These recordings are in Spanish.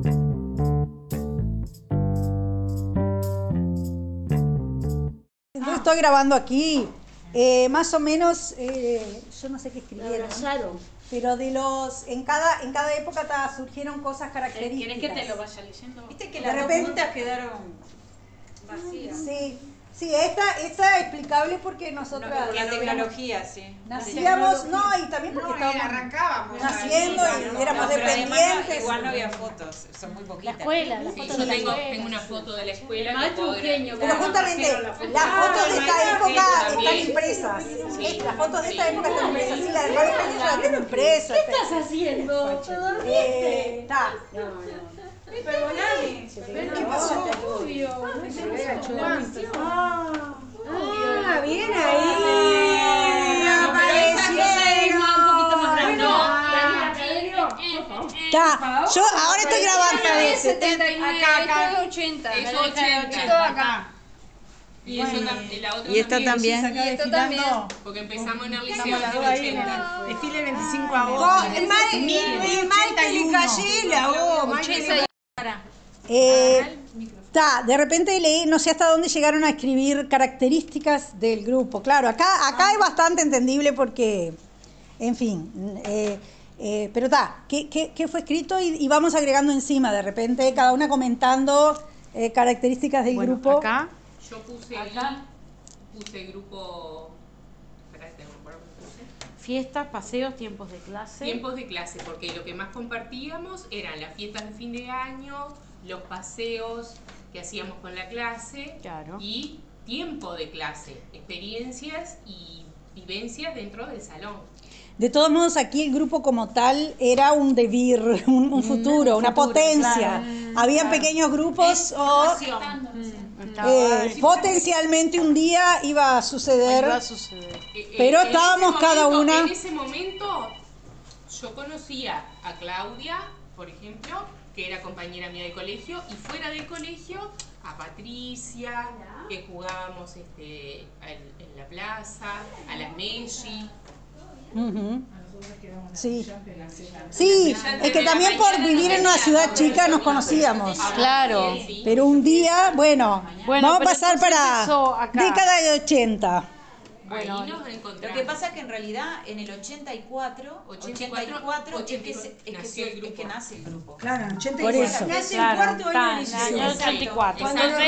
Yo estoy grabando aquí, más o menos, yo no sé qué escribieron, pero en cada época surgieron cosas características. ¿Querés que te lo vaya leyendo? Viste que las dos puntas quedaron vacías. Sí, esta es explicable porque nosotras la tecnología, sí. Nacíamos, y también porque estábamos arrancábamos naciendo y éramos dependientes. Igual no había fotos, son muy poquitas. La escuela, las fotos de la escuela. Tengo una foto de la escuela. Maestro Eugenio. Pero justamente las fotos de esta época están impresas. Las fotos de esta época están impresas. Sí, la del hermano Eugenio yo la tengo impresa. ¿Qué estás haciendo? ¿Te dormiste? Está. Perdóname. ¿Qué pasó? Obvio. Bien ahí. Aparecieron. Un poquito más grande. Está. Yo ahora estoy grabando. Es 79. Acá. Esto es 80. Es La 80. Acá. Y eso la otra Y esto también. Acá esto desfilando. Porque empezamos en el liceo Estamos las dos ahí en el desfile 25 de agosto. De repente leí, no sé hasta dónde llegaron a escribir características del grupo. Claro, acá es bastante entendible porque, en fin, pero ¿qué fue escrito? Y vamos agregando encima, de repente, cada una comentando características del grupo. Acá. Yo puse grupo. Espérate, no me acuerdo qué puse. Fiestas, paseos, tiempos de clase. Tiempos de clase, porque lo que más compartíamos eran las fiestas de fin de año, los paseos que hacíamos con la clase, Claro. y tiempo de clase, experiencias y vivencias dentro del salón. De todos modos, aquí el grupo como tal era un devir, un futuro, una potencia. Habían pequeños grupos potencialmente un día iba a suceder. Pero En estábamos cada una. En ese momento yo conocía a Claudia, por ejemplo, que era compañera mía de colegio, y fuera del colegio a Patricia, que jugábamos en la plaza, a las Messi. Sí, es que también por vivir en una ciudad chica nos conocíamos. Claro. Pero un día, bueno vamos a pasar para década de 80. Bueno, Ahí nos encontramos. lo que pasa es que en realidad en el 84 es que nace el grupo. Claro, en 84. Por eso. Nace el cuarto año de liceo. año 84.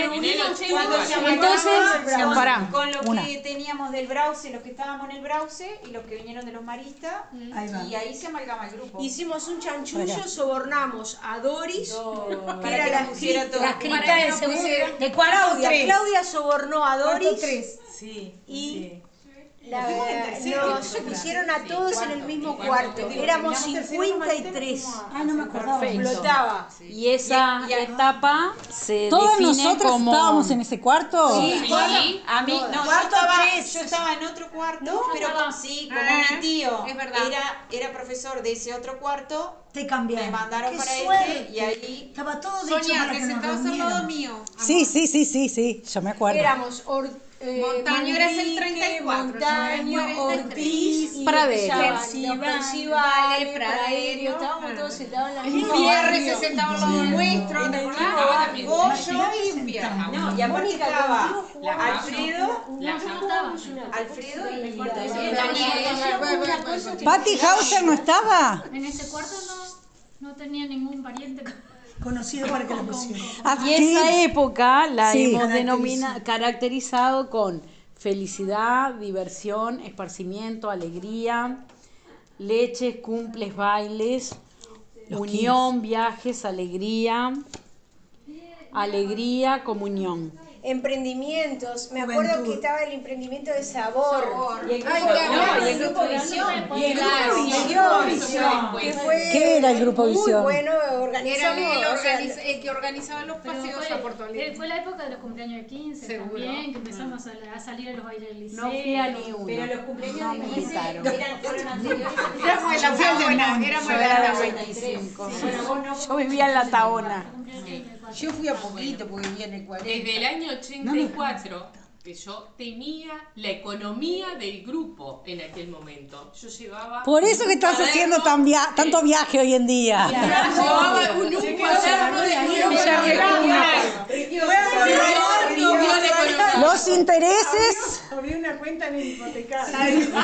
Entonces, pará, con lo una. que teníamos del Brause, los que estábamos en el Brause y los que vinieron de los maristas, y ahí se amalgama el grupo. hicimos un chanchullo, sobornamos a Doris, que Para era que la nos pusiera todo. escrita del segundo. De cuarto tres. Claudia sobornó a Doris Sí. y nos pusieron a todos en el mismo cuarto. Éramos 53. No me acordaba. Explotaba. Y esa etapa se ¿Todas define nosotras como... estábamos en ese cuarto? Sí. A mí, no, Cuarto yo estaba en otro cuarto, pero como mi tío es verdad. era profesor de ese otro cuarto, Te cambiaron. me mandaron Qué para suerte. y ahí... Estaba todo dicho Sonia, para te que nos sentabas al lado reunieran. mío. Sí, yo me acuerdo. Éramos Montaño era el 34, Montaño, Ortiz, Pradero. Percival, Pradero, estábamos todos sentados en la misma Pierre se sentaba al lado nuestro, ¿te acordás? Goyo y Pierre. No, y aparte estaba Alfredo y ¿Patty Hauser no estaba? En ese cuarto no tenía ningún pariente. conocido para que lo pusieran. Y esa época la Sí. hemos caracterizado con felicidad, diversión, esparcimiento, alegría, leches, cumples, bailes, unión, viajes, alegría, comunión. Emprendimientos, me acuerdo Juventud. que estaba el emprendimiento de sabor. Y el grupo Visión. Y el grupo Visión, que fue ¿Qué era el grupo muy Visión? bueno, Era organizamos, el que organizaba los paseos a Puerto Alegre. Fue la época de los cumpleaños de 15 Seguro. también, que empezamos a salir a los bailes del liceo. No fui a ni uno. pero los cumpleaños No de me 15 invitaron. fueron anteriores. Éramos de la Taona, éramos Yo de era la de Taona. 25. Yo vivía en la Taona. Yo fui a poquito porque vivía en el 40. Desde el año 84 que yo tenía la economía del grupo en aquel momento. Yo llevaba... Por eso que estás haciendo tanto viaje hoy en día. Llevaba un cuaderno intereses. Abrí una cuenta en el hipotecario.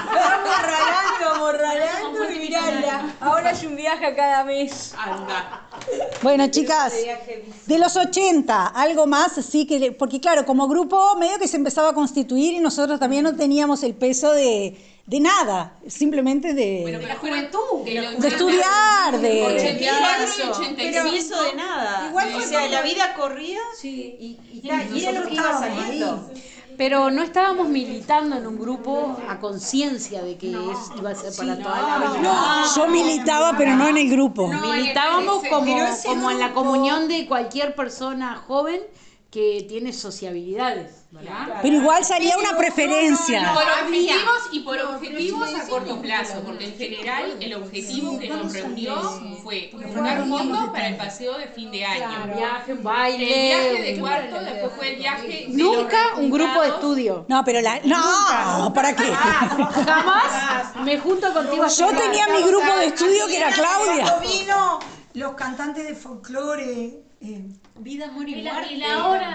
Amorralando y mirala. Ahora hay un viaje cada mes. Anda. Bueno, chicas, de los 80, algo más, sí que, porque claro, como grupo medio que se empezaba a constituir y nosotros también no teníamos el peso de nada, simplemente de La juventud. de estudiar, de 84 y 85. Pero eso de nada. Igual O sea, la vida corría y era lo que iba saliendo. Pero no estábamos militando en un grupo a conciencia de que iba a ser para toda la vida. yo militaba, pero no en el grupo. Militábamos como en la grupo- comunión de cualquier persona joven que tiene sociabilidades, ¿verdad? Pero igual salía una preferencia. Por objetivos a corto plazo, porque en general el objetivo que nos reunió fue juntar fondos para el paseo de fin de año. Viaje, un El baile. viaje de cuarto, después fue el viaje de Nunca los un grupo de resultados. estudio. No, pero no, ¿para qué? Jamás me junto contigo a Yo estudiar. tenía mi grupo de estudio que era Claudia. Cuando vino los cantantes de folclore, Vida, amor Y la hora.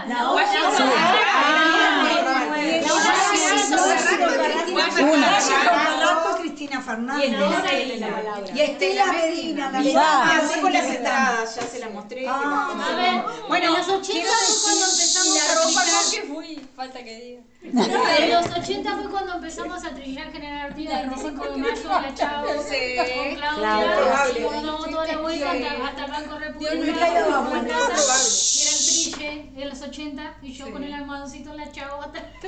Cristina Fernández Y Estela Medina, la Ah. con las entradas, ya se las mostré. A ver, Bueno, en los 80 fue cuando empezamos a trillar. fui, falta que diga. En los 80 fue cuando empezamos a trillar General Artigas, 25 de mayo, la Chavo, con Claudia, no, toda la vuelta hasta el Banco República. Y eran trille en los 80 y yo con el almohadoncito en la Chavo.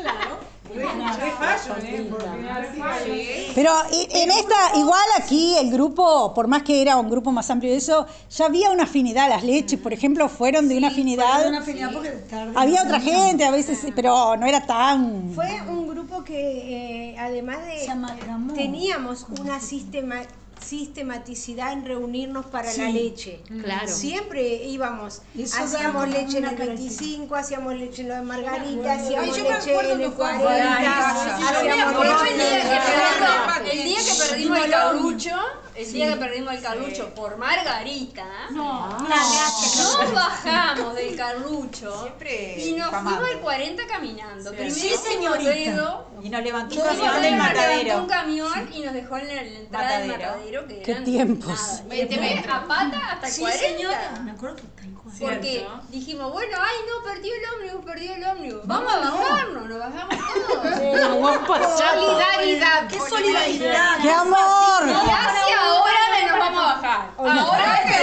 Pero en esta, igual aquí el grupo, por más que era un grupo más amplio de eso, ya había una afinidad. Las leches, por ejemplo, fueron de una afinidad. Había otra gente a veces, pero no era tan... Fue un grupo que además de teníamos una sistematicidad en reunirnos para la leche. Claro. Siempre íbamos, hacíamos leche en el 25, hacíamos leche en lo de Margarita, hacíamos leche en el 40, hacíamos leche El día que perdimos el carrucho por Margarita, nos bajamos del carrucho y nos fuimos al 40 caminando. Primero señorita. Y nos levantó Y un nos camión del levantó matadero. un camión y nos dejó en la entrada del matadero. Que Qué eran tiempos. nada. Y después a pata hasta el 40. Me acuerdo tal cual. Porque dijimos, bueno, ay no, perdió el ómnibus. Vamos a bajarnos, nos bajamos todos. Solidaridad. ¡Qué solidaridad! ¡Qué amor! Y hacia ahora nos vamos a bajar. Ahora que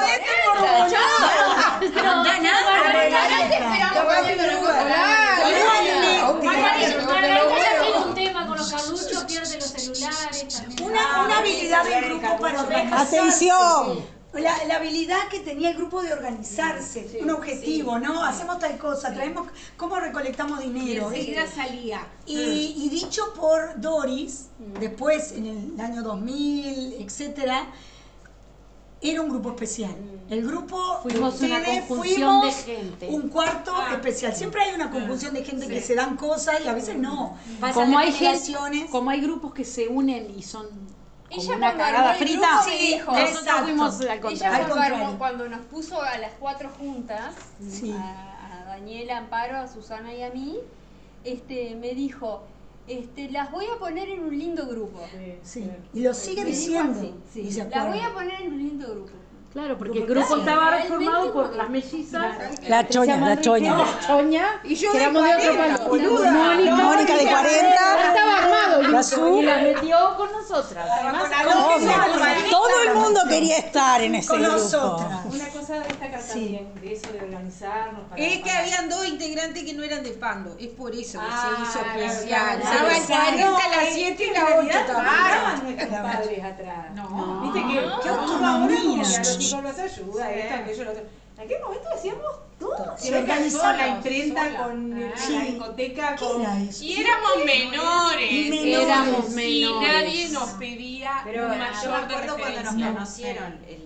Margarita ya tiene un tema con los carruchos, pierde los celulares también. Una habilidad del grupo para organizarse. ¡Atención! La habilidad que tenía el grupo de organizarse, un objetivo, ¿no? Hacemos tal cosa, traemos, ¿cómo recolectamos dinero? Enseguida salía. Y dicho por Doris, después en el año 2000, etcétera, era un grupo especial. El grupo Fuimos de una ustedes, conjunción de fuimos gente. un cuarto especial. Siempre hay una conjunción de gente que se dan cosas y a veces no. Pasan Como las hay generaciones. como hay grupos que se unen y son como Ella una cuando cagada armó el frita, grupo me dijo, nosotros exacto. fuimos al Ella contrario. cuando nos puso a las 4 juntas, Sí. a Daniela, Amparo, a Susana y a mí, me dijo, las voy a poner en un lindo grupo. Sí. Y lo sigue Me dijo diciendo. así, Y se las acuerda. voy a poner en un lindo grupo. Claro, porque el grupo estaba formado por las mellizas. La choña, la choña. La choña, Y yo que de éramos de otro 40, palo. boluda. Mónica de 40. Estaba armado el La grupo Su. y la metió con nosotras. Además, Obvio. Todo el mundo quería estar en ese Con grupo. nosotras. Una cosa a destacar también de eso de organizarnos para... Es que habían dos integrantes que no eran de Pando, es por eso que se hizo claro, especial. claro. Estaba el 40 a las 7 y la 8 Estaban nuestros padres atrás. No. Viste que Qué ahora autonomía. como que a los hijos los ayuda, esto, aquello, lo otro. En aquel momento hacíamos todo. Se organizaban. La imprenta con Sí. la discoteca, ¿Qué con... era eso? Y éramos menores. éramos Y menores. nadie nos pedía Pero un yo me mayor de acuerdo cuando nos referencia. conocieron, porque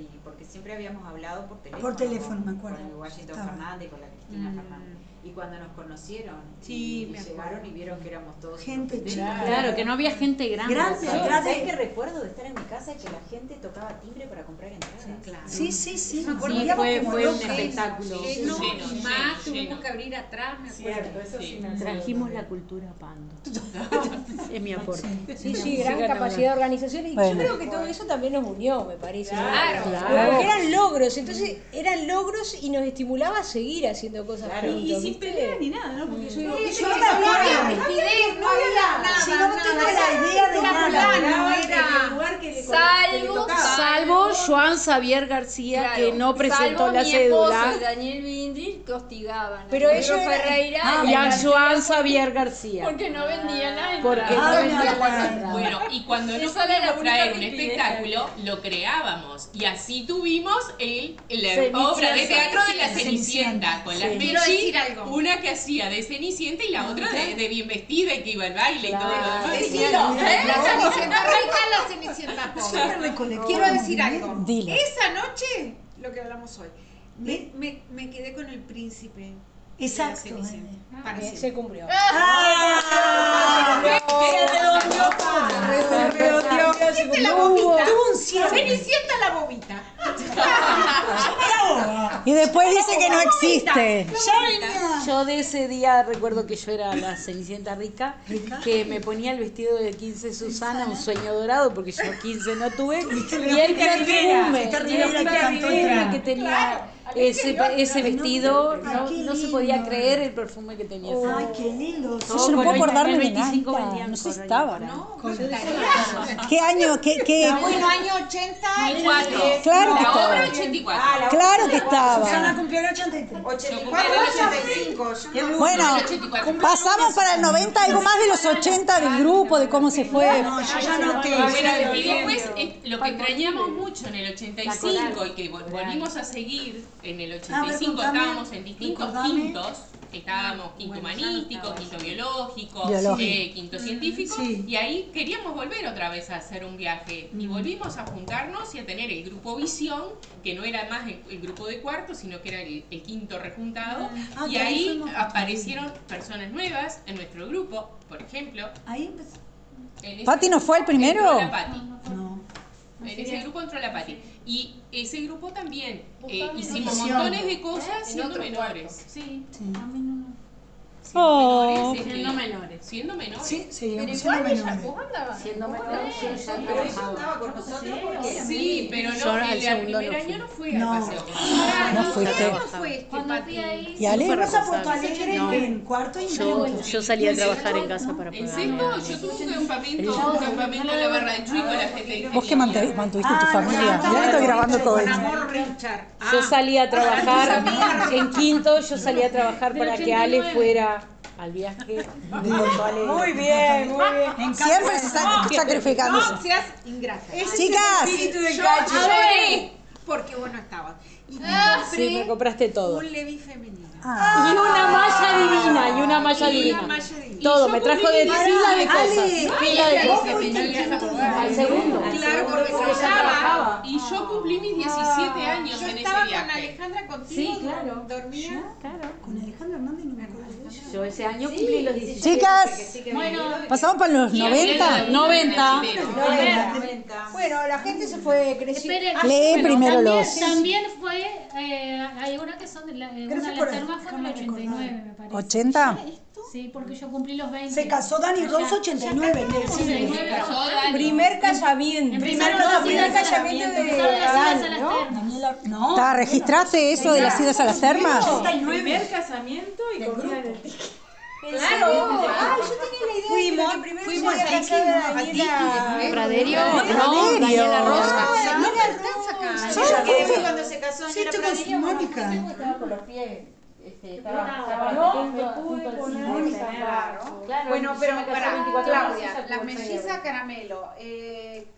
siempre habíamos hablado por teléfono. Por teléfono, me acuerdo. Con el Washington Fernández, con la Cristina Fernández. Y cuando nos conocieron, y llegaron y vieron que éramos todos gente chica. Claro, que no había gente grande. ¿Sabes qué recuerdo de estar en mi casa? Que la gente tocaba timbre para comprar entradas. Claro. Sí, sí, sí. Me acuerdo fue un espectáculo. Lleno, y más, tuvimos que abrir atrás, me acuerdo. Eso sí. Trajimos la cultura a Pando. Es mi aporte. Sí, gran capacidad de organización. Y yo creo que todo eso también nos unió, me parece. Claro. Porque eran logros, entonces eran logros y nos estimulaba a seguir haciendo cosas juntos. Y sin pelea ni nada, ¿no? Porque yo no había la idea de nada. Salvo Joan Xavier García, que no presentó la cédula. Y Daniel Bindri que hostigaban. Pero a ellos Ferreira Y a Joan Xavier García. porque no vendían la Porque entrada. no vendían la entrada. Bueno, y cuando no Esa era la podíamos traer un única espectáculo, lo creábamos. Y así tuvimos la obra de teatro de la Cenicienta, con la Quiero Mechi, decir algo. una que hacía de Cenicienta y la otra de bien vestida y que iba al baile y todo lo demás. La Cenicienta rica, la Cenicienta pobre. Quiero decir algo. Dile. Esa noche, lo que hablamos hoy, me quedé con el príncipe. Exacto. De la Cenicienta, para siempre. Se cumplió. Cenicienta la bobita. Tuvo un cierre. Cenicienta la bobita. Y después dice que no existe. Yo de ese día recuerdo que yo era la Cenicienta rica, que me ponía el vestido de 15 Susana, un sueño dorado, porque yo 15 no tuve, y el perfume que tenía ese vestido, no se podía creer el perfume que tenía. Ay, qué lindo. Yo no puedo acordarme de 25 nada. vendían No sé si por estaba. No, ¿Qué año? ¿Qué? bueno, año 84. Claro que La obra estaba. 84. Claro que Susana estaba. cumplió el 83. 84, 85. Bueno, pasamos para el 90, algo más de los 80 del grupo, de cómo se fue. No, yo ya no te. Bueno, y después lo que extrañamos mucho en el 85 y que volvimos a seguir en el 85, contame, estábamos en distintos recordame. quintos, estábamos quinto humanístico, quinto biológico, quinto científico, y ahí queríamos volver otra vez a hacer un viaje y volvimos a juntarnos y a tener el grupo Visión, que no era más el grupo de cuarto, sino que era el quinto rejuntado, y ahí aparecieron personas nuevas en nuestro grupo, por ejemplo. Ahí empezó. ¿Pati no fue el primero? Entró la Pati. No. En ese grupo entró la Pati. Y ese grupo también hicimos montones de cosas siendo menores. Sí. Oh. Siendo menores. Siendo menores. Sí, seguimos siendo menores. Siendo menores, yo ya Pero ella trabajaba. andaba con nosotros porque Sí, pero Yo no, al el segundo primer no año fui. no fue No. al paseo. No fuiste. fue este, Cuando fui ahí, ¿Y Ale? Fuimos a Porto Alegre en cuarto y Yo salí a trabajar en casa para En pagar. sexto yo tuve un campamento en la Barra de Chuy con la gente. Vos que mantuviste tu familia. Mirá que estoy grabando todo Con esto. amor, Richard. Yo salí a trabajar en quinto, yo salí a trabajar para que Ale fuera al viaje de Porto Alegre. Muy bien, muy bien. Siempre se está sacrificándose. No seas ingrata. Chicas, Yo lloré porque vos no estabas. Y Sí, me compraste todo. un Levi femenino. Ah. Y una malla divina, y una malla Y una divina. malla divina. Todo, me trajo de pila de cosas. Ale, Pila de vos cosas. fuiste al quinto. Al segundo. Claro, porque Porque ya trabajaba. Y yo cumplí mis 17 años yo en ese estaba con viaje. Alejandra contigo. Sí, claro. Dormía. Con Alejandra Hernández no me acuerdo de ella. Yo ese año cumplí los 17. chicas, pasamos para los 90. 90. Bueno, la gente se fue creciendo. esperen, Lee primero también, los. También fue, hay una que son de la, una de por las ahí, termas fue en el 89, me parece. ¿80? Sí, porque yo cumplí los 20. Se casó Dani Rosso 89. Primer casamiento. Primer casamiento de Adán, ¿no? Daniela, no. ¿Registraste eso de las idas a las termas? Primer casamiento y comida en el Claro. Ah, yo tenía la idea de que primero fuimos se había a casado Tiki, Daniela. Praderio, no, Praderio. Daniela Rosa. No me alcanza acá. Ella que fue cuando se casó Sí, Daniela esto con Praderio. Mónica. Estaba con los pies. Bueno, pero para Claudia, la melliza caramelo.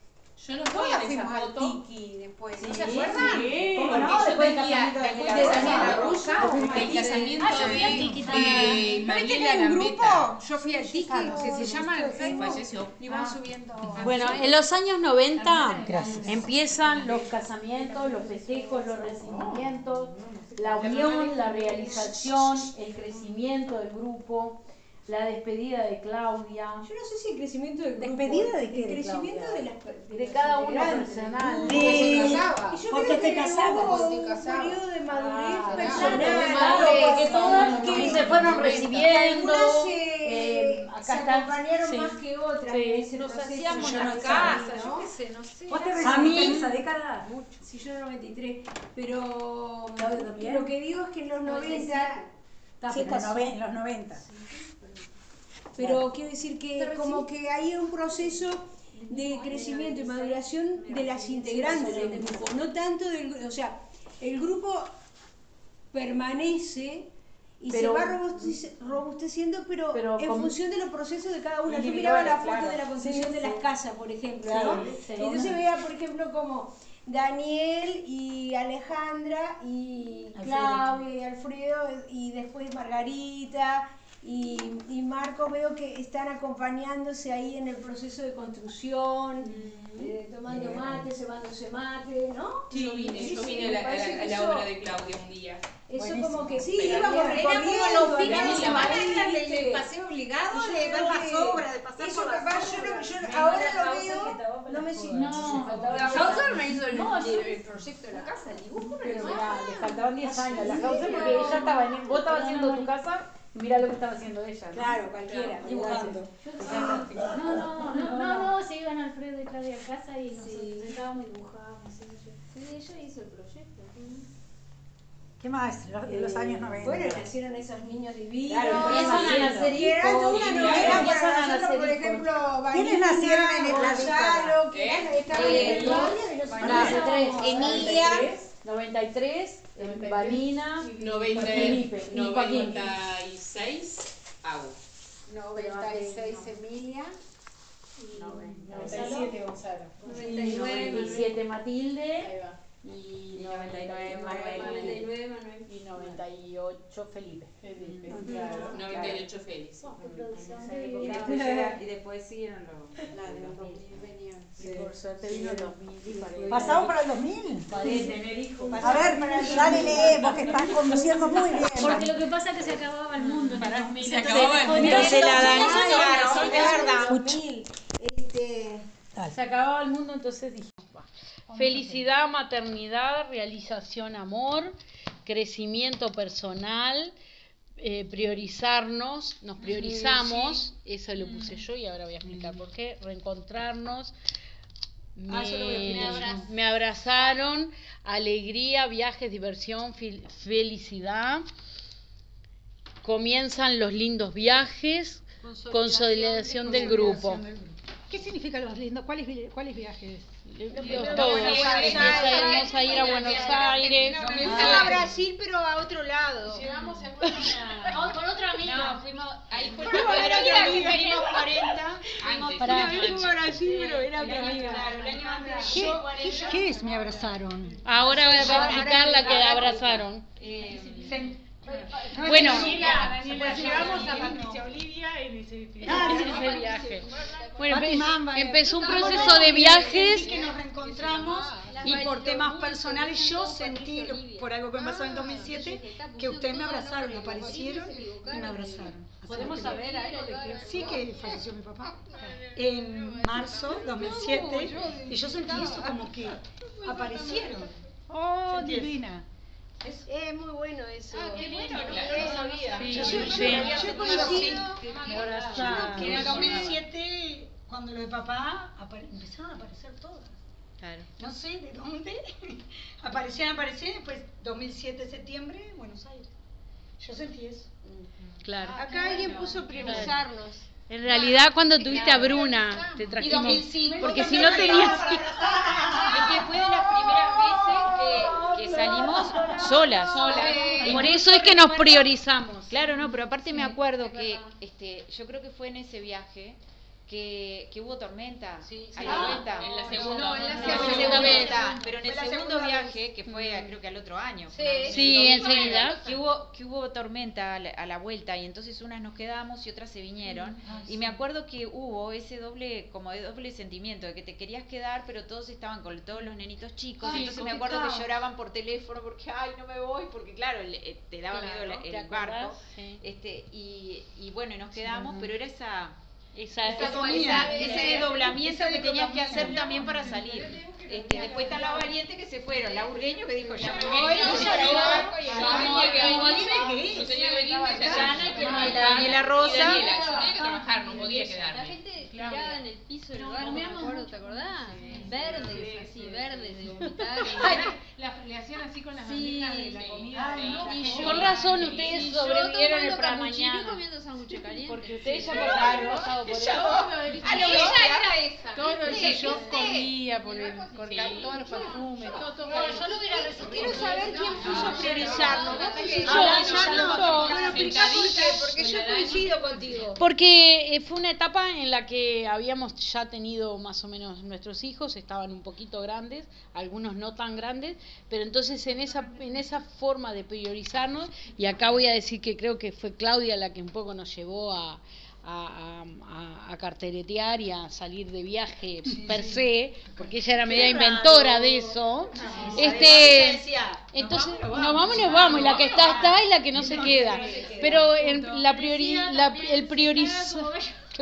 Yo no estoy en esa foto. Tiki después. ¿No se acuerdan? Sí. ¿Cómo No, no? después del Después casamiento de de Daniela la Russa, el casamiento yo fui al Tiki también. de ¿No viste que Mariela hay un grupo? Gambetta. Yo fui al Tiki, que se llama el Facebook, Falleció. y van subiendo. Bueno, en los años 90 empiezan los casamientos, los festejos, los recibimientos, la unión, la realización, el crecimiento del grupo, la despedida de Claudia. Yo no sé si el crecimiento del grupo. ¿Despedida de qué? El crecimiento Claudia? de las De cada uno personal. Porque te casabas. Hubo un periodo de madurez personal. Claro, que todas que se fueron recibiendo. Algunas acá se está. acompañaron Sí. más que otras. Sí. en ese Nos proceso. hacíamos Yo las no casas, sé, yo ¿no? qué sé, no sé. ¿Vos te A recibiste mí- en esa década? Sí, yo en el 93. Pero Claudia también. lo que digo es que en los 90. Sí, en los 90. Pero quiero decir que como que hay un proceso de crecimiento y maduración de las integrantes del grupo, no tanto del, o sea, el grupo permanece y Pero- se va robusteciendo, pero en con- función de los procesos de cada una. Yo individuales, miraba la foto claro. de la construcción de las casas, por ejemplo, Claro, ¿no? sí. Entonces veía, por ejemplo, como Daniel y Alejandra y Claudia y Alfredo y después Margarita y Marco, veo que están acompañándose ahí en el proceso de construcción, tomando mate, cebándose mate, ¿no? Sí, yo vine me a parece que la eso- obra de Claudia un día. Eso como que sí, Pero íbamos era recorriendo. Era como los fines acá, de semana, allá, era ¿viste? el paseo obligado Y yo de ver creo las que obras, de pasar eso por las capaz obras. yo ahora lo veo, no me siento. La Hauser me hizo el proyecto de la casa, el dibujo. Pero mirá, le faltaban 10 años a la causa porque ella estaba vos estabas haciendo tu casa y mirá lo que estaba haciendo ella. ¿no? Claro, cualquiera, dibujando. No, se iban Alfredo y Claudia a casa y nosotros sentábamos y dibujábamos. Sí, ella hizo el proyecto. ¿Qué más? Los años 90. Bueno, nacieron esos niños divinos. Claro, empiezan a nacer Y era toda una hijos, novela empiezan para a nosotros, nacer por hijos. ejemplo, ¿Quiénes nacieron en el Gonzalo, que estaban en el barrio y los 93, Emilia. 93, Vanina, 90, Felipe y Joaquín. 96, Agus. 96 Emilia. 97 Gonzalo. 97 Matilde Ahí va. y 99 Manuel 99 Manuel. y 98 Felipe. Felipe, claro. 98 Félix. Y después siguieron los 2000. Y por suerte vino el 2000 y paré. ¿Pasamos para el 2000? Paré de tener hijos. A ver, dale, lee, vos que estás conduciendo muy bien. Porque lo que pasa es que se acababa el mundo en el 2000. Se acababa el mundo. Entonces la Claro, de verdad. 2000. Se acababa el mundo, entonces dije, felicidad, maternidad, realización, amor, crecimiento personal, priorizarnos, nos priorizamos, eso lo puse yo y ahora voy a explicar por qué, reencontrarnos, me abrazaron, alegría, viajes, diversión, felicidad, comienzan los lindos viajes, consolidación del grupo. ¿Qué significa los lindos? ¿Cuáles viajes? Todos. Empezamos a ir a Buenos Aires. A Brasil, pero a otro lado. Con otro amigo. Fuimos ahí por Fuimos la a otra amiga. Fuimos 40. Para- Brasil, pero era otra amiga. ¿Qué es me abrazaron? Ahora voy a explicar la que abrazaron. Bueno, Llevamos a Patricia Olivia en ese ese viaje. Bueno, Pati Mamba, empezó un proceso de viajes. Que nos reencontramos y por temas personales yo sentí, por algo que me pasó en el 2007, que ustedes me abrazaron, aparecieron y me abrazaron. ¿Podemos saber algo de qué? Sí, que falleció mi papá en marzo 2007 y yo sentí eso como que aparecieron. Oh, divina. Es muy bueno eso. Qué bueno, no lo sabía. Yo he conocido Me abrazaron. que en el 2007, cuando lo de papá, empezaron a aparecer todas. Claro. No sé de dónde. aparecían, después 2007, septiembre, Buenos Aires. Yo sentí eso. Claro. Acá alguien puso priorizarnos. En realidad, cuando tuviste a Bruna, te trajimos. 2005. Porque si no tenías. Es que fue de las primeras veces Que salimos solas. Por eso es que nos priorizamos. Claro, no, pero aparte me acuerdo que yo creo que fue en ese viaje que hubo tormenta a la Ah, vuelta. en la segunda. No, en la No, segunda vez. vez. Pero en el Fue la segundo segunda viaje, que fue creo que al otro año. Sí, enseguida. Que hubo tormenta a la vuelta y entonces unas nos quedamos y otras se vinieron. Y me acuerdo que hubo ese doble sentimiento de que te querías quedar, pero todos estaban con todos los nenitos chicos. Ay, Entonces me acuerdo que lloraban por teléfono porque, ay, no me voy, porque claro, te daba miedo el barco. Sí. Y bueno, y nos quedamos, pero era ese desdoblamiento que tenías que hacer también para salir. Después están las valientes que se fueron, la Urgueño que dijo, ya me voy, Daniela Rosa. Yo tenía que trabajar, no podía quedarme. La gente tirada en el piso del barco, me acuerdo, ¿te acordás? Verdes, así, verdes de vomitar. Le hacían así con las bandejas de la comida. Con razón, ustedes sobrevivieron el para mañana. mañana. Comiendo sándwiches calientes. Porque ustedes ya pasaron pasado por eso. Todo eso yo comía por todos los perfumes, todo. Yo lo hubiera resistido. Quiero saber quién puso a priorizarlo. Porque yo coincido contigo. Porque fue una etapa en la que habíamos ya tenido más o menos nuestros hijos, estaban un poquito grandes, algunos no tan grandes, pero entonces en esa forma de priorizarnos, y acá voy a decir que creo que fue Claudia la que un poco nos llevó a carteretear y a salir de viaje per se, porque ella era media inventora de eso. Entonces nos vamos, y la que está y la que no se queda. Pero en el priorizar.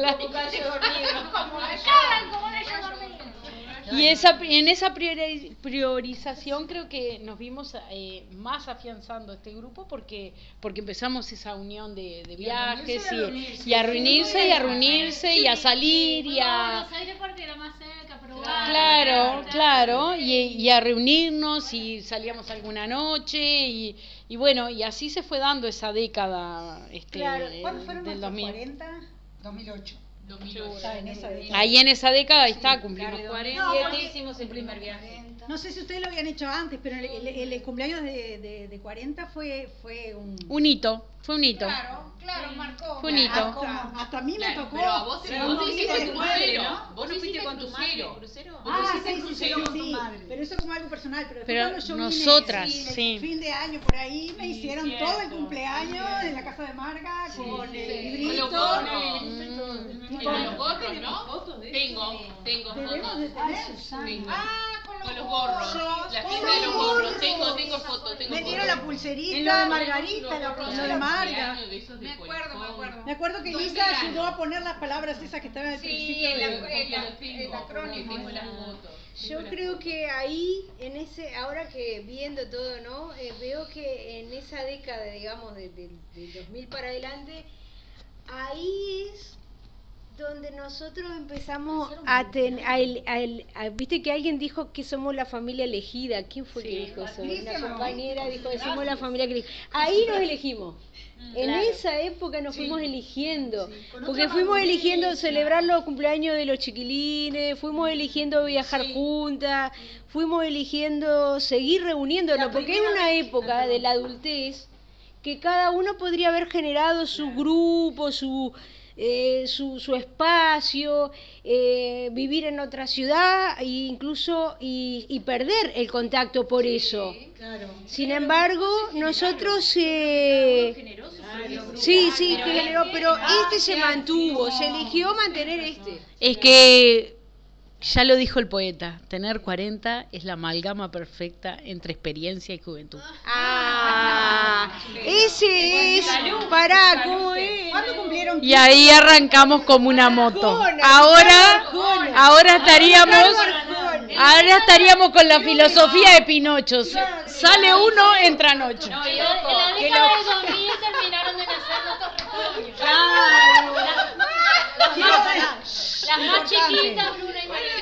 Y en esa priorización creo que nos vimos más afianzando este grupo porque empezamos esa unión de viajes y a reunirse y a salir y a... Buenos Aires porque era más cerca, pero Claro, y a reunirnos y salíamos alguna noche y bueno, y así se fue dando esa década ¿Cuándo fueron del nuestros 2000. 40? 2008. Ahí en esa década está, cumplimos 40, hicimos el primer viaje. No sé si ustedes lo habían hecho antes, pero el cumpleaños de 40 fue un hito, fue un hito. Claro, marcó. Fue un hito. Hasta a mí me tocó. Pero a vos no hiciste tu crucero. Vos no fuiste con tu madre. Sí, pero eso como algo personal. Pero cuando yo nosotras, vine, el fin de año por ahí, me hicieron todo el cumpleaños en la casa de Marga, con el librito. Con los gorros, ¿no? Tengo Debemos de tener, Susana. Con los gorros. La fiesta de los gorros. Tengo fotos. Me dieron la pulserita. En lo de Margarita, lo de Marga. Me acuerdo. Me acuerdo que Lisa ayudó a poner las palabras esas que estaban al principio. el acrónimo. Yo creo que ahí, ahora que viendo todo, ¿no? Veo que en esa década, digamos, del 2000 para adelante, ahí es donde nosotros empezamos viste que alguien dijo que somos la familia elegida. ¿Quién fue que dijo eso? Una compañera dijo que somos la familia que elegimos. Ahí nos elegimos. En esa época nos fuimos eligiendo, porque fuimos eligiendo celebrar los cumpleaños de los chiquilines, fuimos eligiendo viajar juntas, fuimos eligiendo seguir reuniéndonos, porque es una época de la adultez que cada uno podría haber generado su grupo, su espacio, vivir en otra ciudad e incluso y perder el contacto por eso. Sin embargo, nosotros pero se mantuvo, se eligió mantener este. Es que ya lo dijo el poeta, tener 40 es la amalgama perfecta entre experiencia y juventud. Ese es, ¿cómo es? ¿Cuándo cumplieron? Y ahí arrancamos como una moto. Ahora estaríamos con la filosofía de Pinocho. Sale uno, entran 8. En la década del 2000 terminaron de nacer nuestros retoños. Las más chiquitas, Bruna y María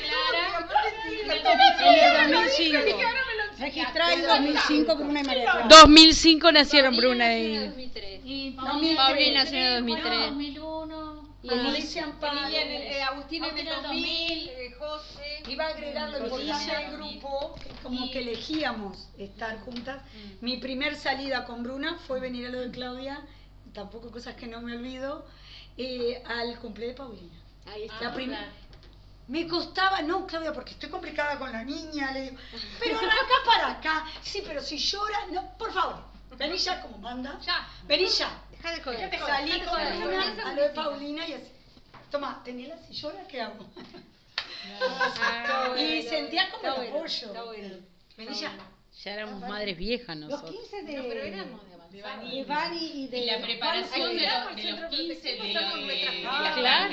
Clara. En el 2005. Registrada en 2005 Bruna y María Clara. 2005 nacieron Bruna y... Paulina nació en 2003. 2001. Y Alicia Agustín en el 2000, José. Iba a agregar lo que dice el grupo, como que elegíamos estar juntas. Mi primer salida con Bruna fue venir a lo de Claudia, tampoco cosas que no me olvido, al cumple de Paulina. Ahí está. Me costaba, no, Claudia, porque estoy complicada con la niña, le digo, pero arranca para acá. Sí, pero si llora, no, por favor, vení ya como manda. Ya. Vení ya. Deja de joder. Salí con Paulina, a lo de Paulina y así. Toma, tenela, si llora, ¿qué hago? Y sentía como el apoyo. Está bueno. Vení ya. Ya éramos madres viejas nosotros. Los 15 de... No, pero éramos de Bani y de la preparación de los 15 de la claro,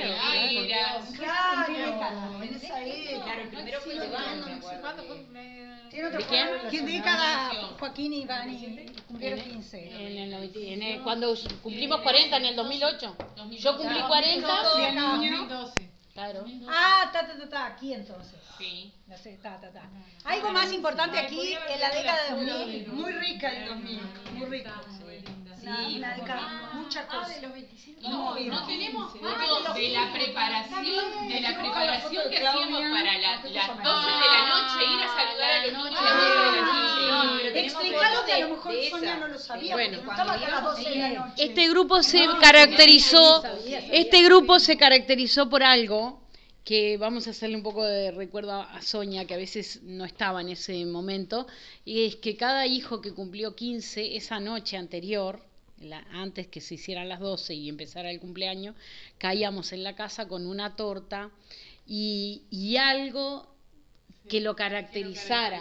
en esa época. Claro, el primero fue de Bani. ¿Cuándo fue? ¿Qué década Joaquín y Bani cumplieron 15? Cuando cumplimos 40 en el 2008. Yo cumplí 40 y el niño 2012. Claro. Ah, aquí entonces. Sí. No sé, Algo más importante aquí en la década de 2000, muy rica el 2000, muy rica. Sí, una década, muchas cosas. No tenemos fotos de la preparación que hacíamos para las 12 de la noche, ir a saludar a los niños a las 12 de la noche. Explicarlo que a lo mejor Sonia no lo sabía, bueno, porque estaba a las 12 de la noche. Este grupo se caracterizó por algo que vamos a hacerle un poco de recuerdo a Sonia, que a veces no estaba en ese momento, y es que cada hijo que cumplió 15, esa noche anterior, antes que se hicieran las 12 y empezara el cumpleaños, caíamos en la casa con una torta y algo que lo caracterizara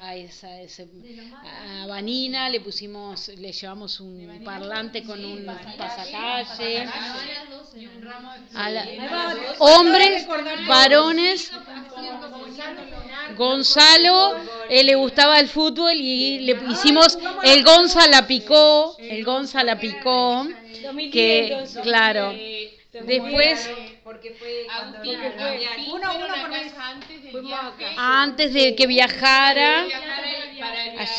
a Vanina. Le llevamos un parlante con un pasacalle, hombres, varones. Gonzalo, le gustaba el fútbol y le hicimos el Gonza la picó, que claro. Después, porque fue cuando antes de que viajara, a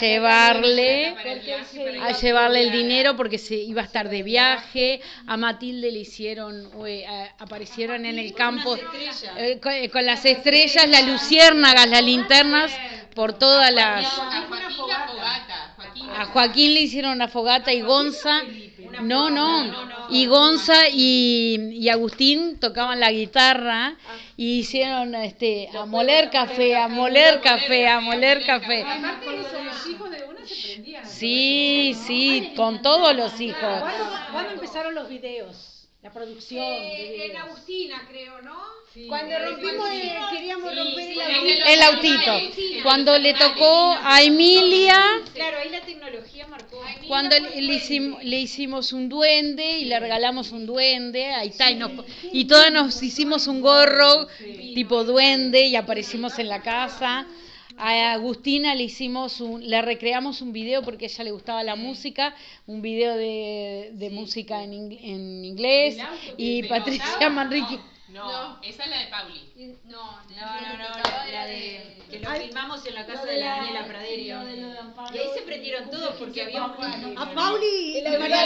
llevarle el dinero porque se iba a estar de viaje. A Matilde le hicieron, aparecieron en el campo con las estrellas, las luciérnagas, las linternas por todas las. A Joaquín le hicieron una fogata y Gonza. Y Gonza y Agustín tocaban la guitarra y hicieron a moler café. Sí, con todos los hijos. ¿Cuándo empezaron los videos? La producción. En Agustina, creo, ¿no? Sí. Cuando rompimos, queríamos romper el autito. Cuando le tocó a Emilia. Claro, ahí la tecnología marcó. Cuando le hicimos un duende y le regalamos un duende, ahí está, y todas nos hicimos un gorro tipo duende y aparecimos en la casa. A Agustina le recreamos un video porque a ella le gustaba la música, un video de música en inglés, y Patricia Manrique. No, esa es la de Pauli. No, la de que lo filmamos en la casa de la Daniela Pradera. Y ahí se prendieron todos porque había un... A Pauli,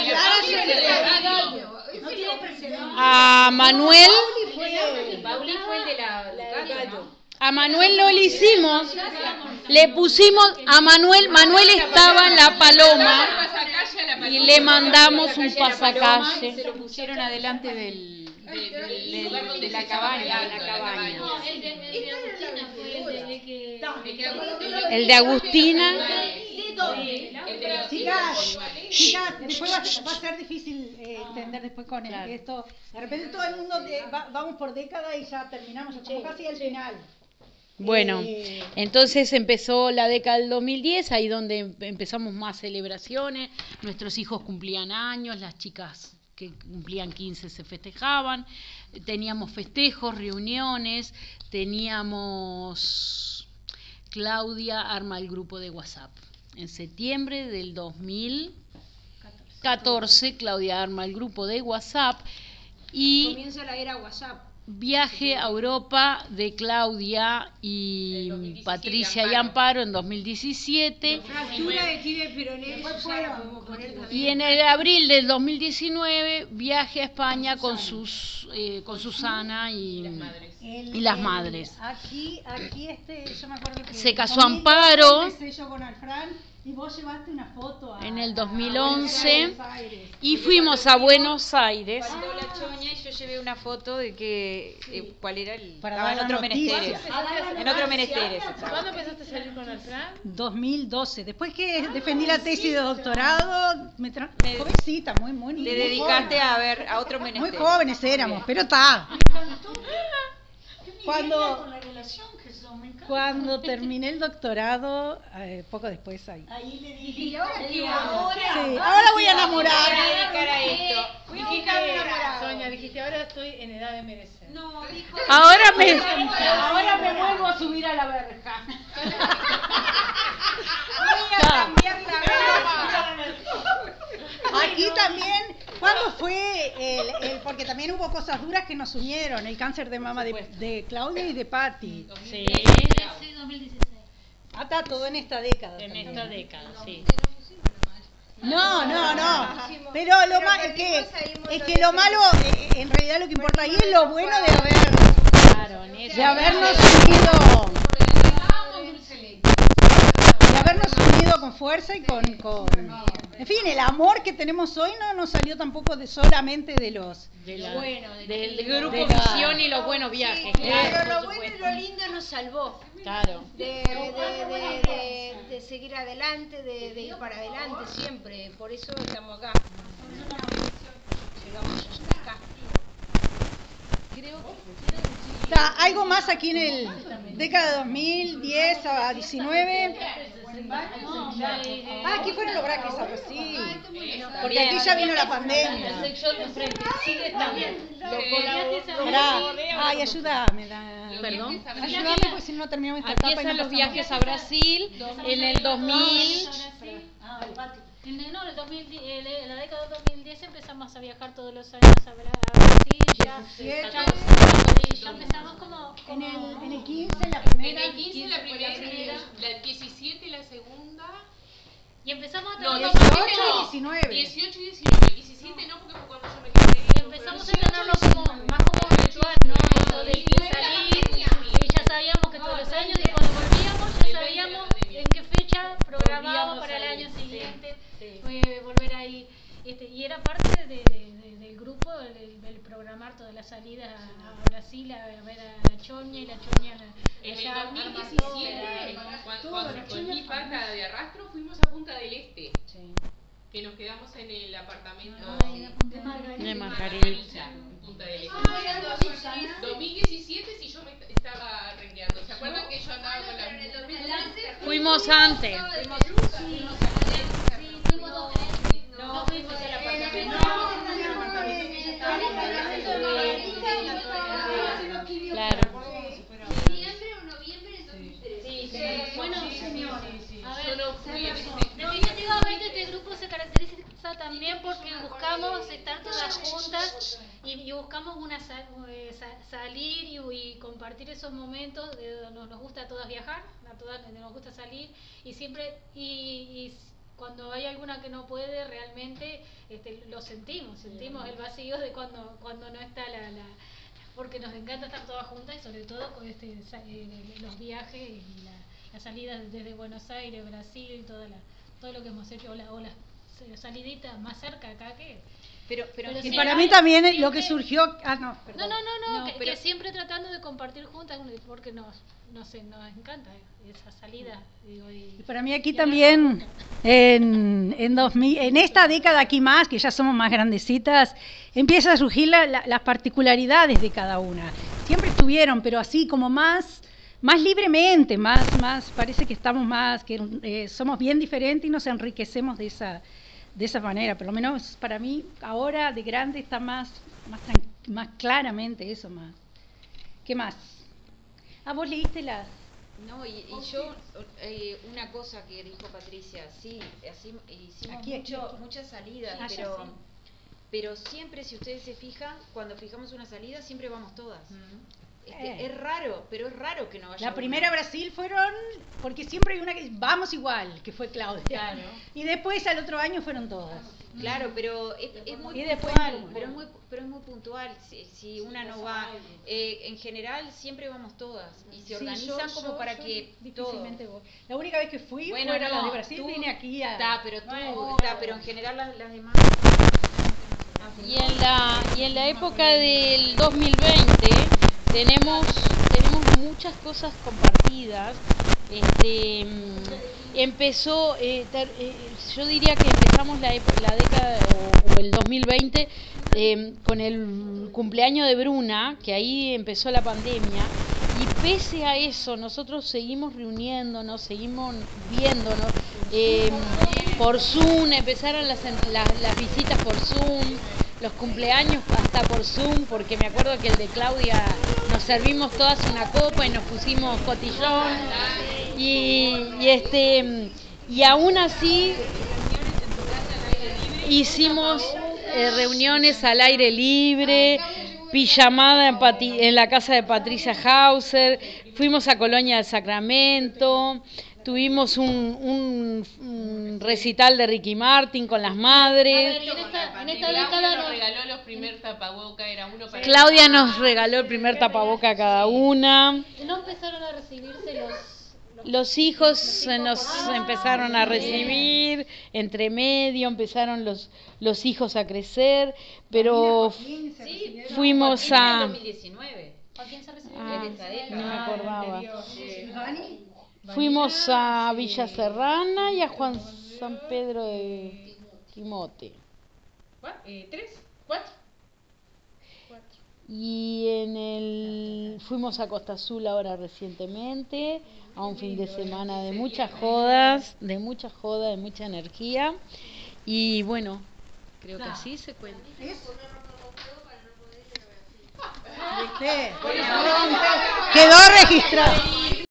a Manuel. Pauli fue el de la Ducati. A Manuel no le hicimos, le pusimos a Manuel estaba en la Paloma y le mandamos un pasacalle. Se lo pusieron adelante de la cabaña. El de Agustina. Chicas, después va a ser difícil entender después con esto. De repente todo el mundo vamos por década y ya terminamos, como casi al final. Bueno, entonces empezó la década del 2010, ahí donde empezamos más celebraciones, nuestros hijos cumplían años, las chicas que cumplían 15 se festejaban, teníamos festejos, reuniones, Claudia arma el grupo de WhatsApp. En septiembre del 2014, Claudia arma el grupo de WhatsApp y comienza la era WhatsApp. Viaje a Europa de Claudia y Patricia y Amparo en 2017. Fractura de tibia peroné. Y en el abril del 2019 viaje a España con Susana y las madres. Aquí yo me acuerdo que se casó Amparo. Yo con Alfran, y vos llevaste una foto en el 2011 y fuimos a Buenos Aires. Cuando la Choña y yo yo llevé una foto de que cuál era el Para estaba dar en otro la noticia. menesteres. En otro menesteres. ¿Cuándo empezaste a salir con el Fran? 2012. Después que defendí la tesis de doctorado, jovencita, muy Te dedicaste joven. a ver a otro Muy menesteres. jóvenes éramos, pero está. Cuando terminé el doctorado, poco después ahí. Ahí le dije, Sí, ahora voy a enamorar. Sonia, dijiste, ahora estoy en edad de merecer. No, dijo. Ahora me vuelvo a subir a la verja. voy a cambiar la vida. Aquí también, ¿cuándo fue porque también hubo cosas duras que nos unieron, el cáncer de mama de Claudia y de Patti? Sí. Sí, 2016. Está todo en esta década. En también. esta década, sí. No. Pero lo malo es que lo malo, en realidad lo que importa ahí es lo bueno de habernos unido. De habernos unido con fuerza y con en fin, el amor que tenemos hoy no nos salió tampoco solamente de los del grupo Visión y los buenos viajes. Pero lo bueno y lo lindo nos salvó. Claro. De seguir adelante, de ir para adelante siempre. Por eso estamos acá. Llegamos hasta acá. Está algo más aquí en el década de 2010 a 19. Aquí fueron los braques ahora sí. Porque aquí ya vino la pandemia. Ay, ayúdame. Perdón. Ayúdame porque si no terminamos esta etapa. Empiezan los viajes a Brasil en el 2000. En la década de 2010 empezamos a viajar todos los años a Brasil. Ya empezamos como en el 15 la primera. En el 15 la primera, la 17 la segunda. Y empezamos a No, 18 y 19. 18 y 19. 17 no, porque fue cuando yo me casé. Y empezamos a tenerlo más como virtual, ¿no? Eso de salir, y ya sabíamos que todos los años, y cuando volvíamos ya sabíamos en qué fecha programábamos para el año siguiente volver ahí. Y era parte del grupo, del programar todas las salidas a Brasil, a ver a la Choña, y la Choña en el 2017, cuando con mi pata de arrastro fuimos a Punta del Este. Sí. Que nos quedamos en el apartamento de Margarita. En Punta del Este. 2017 si yo me estaba rengueando. ¿Se acuerdan que yo andaba con la... Fuimos antes. No fuimos al apartamento. Claro. ¿Diciembre o noviembre del 2013? Bueno, señores. A ver, yo no fui en definitivamente este grupo se caracteriza también porque buscamos estar todas juntas y buscamos salir y compartir esos momentos. Nos gusta a todas viajar, a todas nos gusta salir y siempre y cuando hay alguna que no puede realmente lo sentimos el vacío de cuando no está porque nos encanta estar todas juntas y sobre todo con los viajes y la salida desde Buenos Aires, Brasil, todo lo que hemos hecho, o las saliditas más cerca acá que... Pero y para mí también lo que surgió... que siempre tratando de compartir juntas, porque nos encanta esa salida. Y para mí aquí también, en esta década aquí más, que ya somos más grandecitas, empieza a surgir las particularidades de cada una. Siempre estuvieron, pero así como más libremente, más parece que estamos más, que somos bien diferentes y nos enriquecemos de esa manera. Por lo menos para mí ahora de grande está más claramente eso más. ¿Qué más? ¿Vos leíste las? No, y yo, una cosa que dijo Patricia, sí, así hicimos muchas salidas, pero siempre, si ustedes se fijan, cuando fijamos una salida, siempre vamos todas. Es raro, pero es raro que no vaya la primera a Brasil fueron, porque siempre hay una que vamos igual, que fue Claudia. Claro. Y después al otro año fueron todas. Claro, pero es muy puntual, pero es muy puntual. Si una no va, en general siempre vamos todas y se organizan como para que difícilmente voy. La única vez que fui fueron las de Brasil, vine aquí a... pero en general las demás. Y en la época del 2020 tenemos muchas cosas compartidas. Empezó, yo diría que empezamos la década o el 2020 con el cumpleaños de Bruna, que ahí empezó la pandemia, y pese a eso nosotros seguimos reuniéndonos, seguimos viéndonos por Zoom, empezaron las visitas por Zoom, los cumpleaños hasta por Zoom, porque me acuerdo que el de Claudia nos servimos todas una copa y nos pusimos cotillón y aún así hicimos reuniones al aire libre, pijamada en la casa de Patricia Hauser, fuimos a Colonia del Sacramento, tuvimos un recital de Ricky Martin con las madres. En esta década nos regaló los primer tapabocas, era uno para Claudia nos regaló el primer tapaboca a cada una. ¿No empezaron a recibirse los hijos nos empezaron a recibir, entre medio empezaron los hijos a crecer, pero fuimos a... 2019. ¿Quién se recibió? No me acordaba. Fuimos a Villa Serrana y a Juan San Pedro de Quimote. ¿Tres? ¿Cuatro? Y fuimos a Costa Azul ahora recientemente, a un fin de semana de muchas jodas, de mucha energía. Y bueno, creo que así se cuenta. Quedó registrado.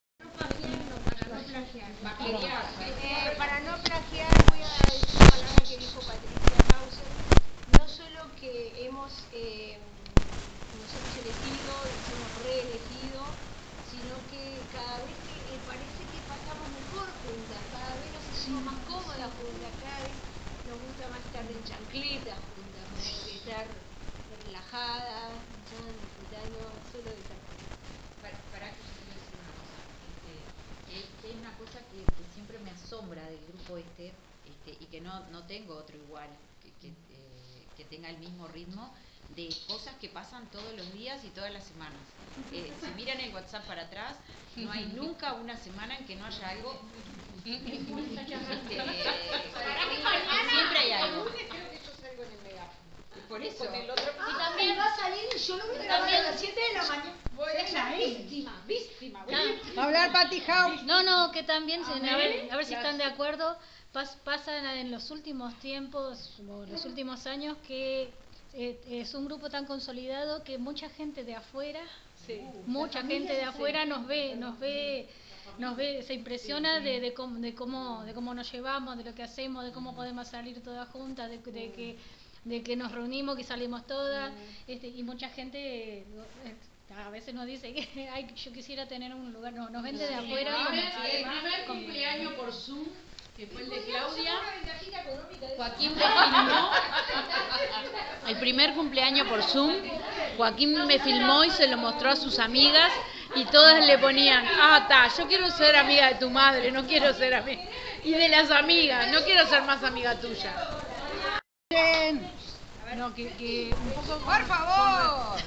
Para no plagiar, voy a decir una palabra que dijo Patricia Hauser. No solo que nos hemos elegido, nos hemos reelegido, sino que cada vez que parece que pasamos mejor juntas, cada vez nos sentimos más cómodas juntas, cada vez nos gusta más estar en chancletas juntas, como que estar relajadas, disfrutando solo de estar. Para que yo quiero decir una cosa, que es una cosa que siempre me asombra del grupo y que no tengo otro igual que tenga el mismo ritmo, de cosas que pasan todos los días y todas las semanas. Si miran el WhatsApp para atrás, no hay nunca una semana en que no haya algo. Siempre hay algo. Creo que yo salgo en el megáfono. Por eso. Y también va a salir y yo lo voy a grabar a las 7 de la mañana. Voy a ser víctima. Va a hablar Patty House. No, que también, a ver si están de acuerdo, pasan en los últimos tiempos, o los últimos años, que es un grupo tan consolidado que mucha gente de afuera, nos ve, se impresiona de cómo nos llevamos, de lo que hacemos, de cómo podemos salir todas juntas, de que nos reunimos, que salimos todas, y mucha gente a veces nos dice que yo quisiera tener un lugar, nos vende de afuera. El primer cumpleaños por Zoom, que fue el de Claudia, Joaquín me filmó. El primer cumpleaños por Zoom, Joaquín me filmó y se lo mostró a sus amigas y todas le ponían, yo quiero ser amiga de tu madre, no quiero ser amiga. Y de las amigas, no quiero ser más amiga tuya. No, que un poco... ¡Por favor!